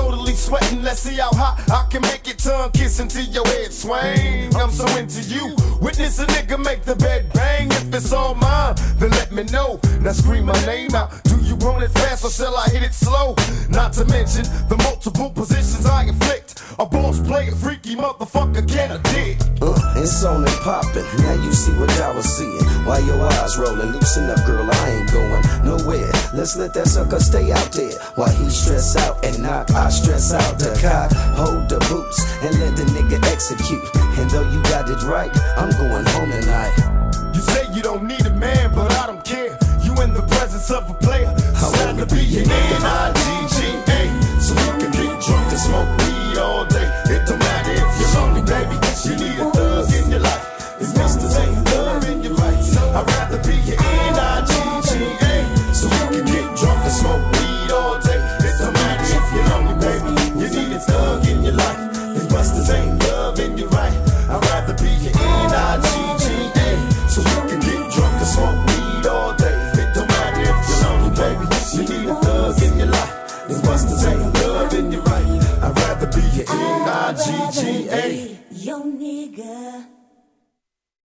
sweating, let's see how hot I can make it tongue kissing till your head swing. I'm so into you. Witness a nigga make the bed bang. If it's all mine, then let me know. Now scream my name out. Do you want it fast or shall I hit it slow? Not to mention the multiple positions I inflict. A boss player, freaky motherfucker, can I dig? Uh, it's on and poppin'. Now you see what I was seeing. Why your eyes rollin'? Loosen up, girl. I ain't going nowhere. Let's let that sucker stay out there. While he stress out and knock, I stress out the cock. Hold the boots and let the nigga execute. And though you got it right, I'm going home tonight. You say you don't need a man, but I don't care. You in the presence of a player. I'd rather be your N I G G A. So you can get drunk and smoke weed all day. It don't matter if you're lonely, baby. You need a thug in your life. It's Mister Ain't love in your right. I'd rather be your N I G G A. So you can get drunk and smoke weed all day. It don't matter if you're lonely, baby. You need a thug in your life. It's Mister Ain't love in your right. I'd rather be your N I G G A. So you can get drunk and smoke weed all day. It don't matter if you're lonely, baby. You need a thug in your life. It's Buster's ain't love in your right. I'd rather be your N I G G A. Yo nigga.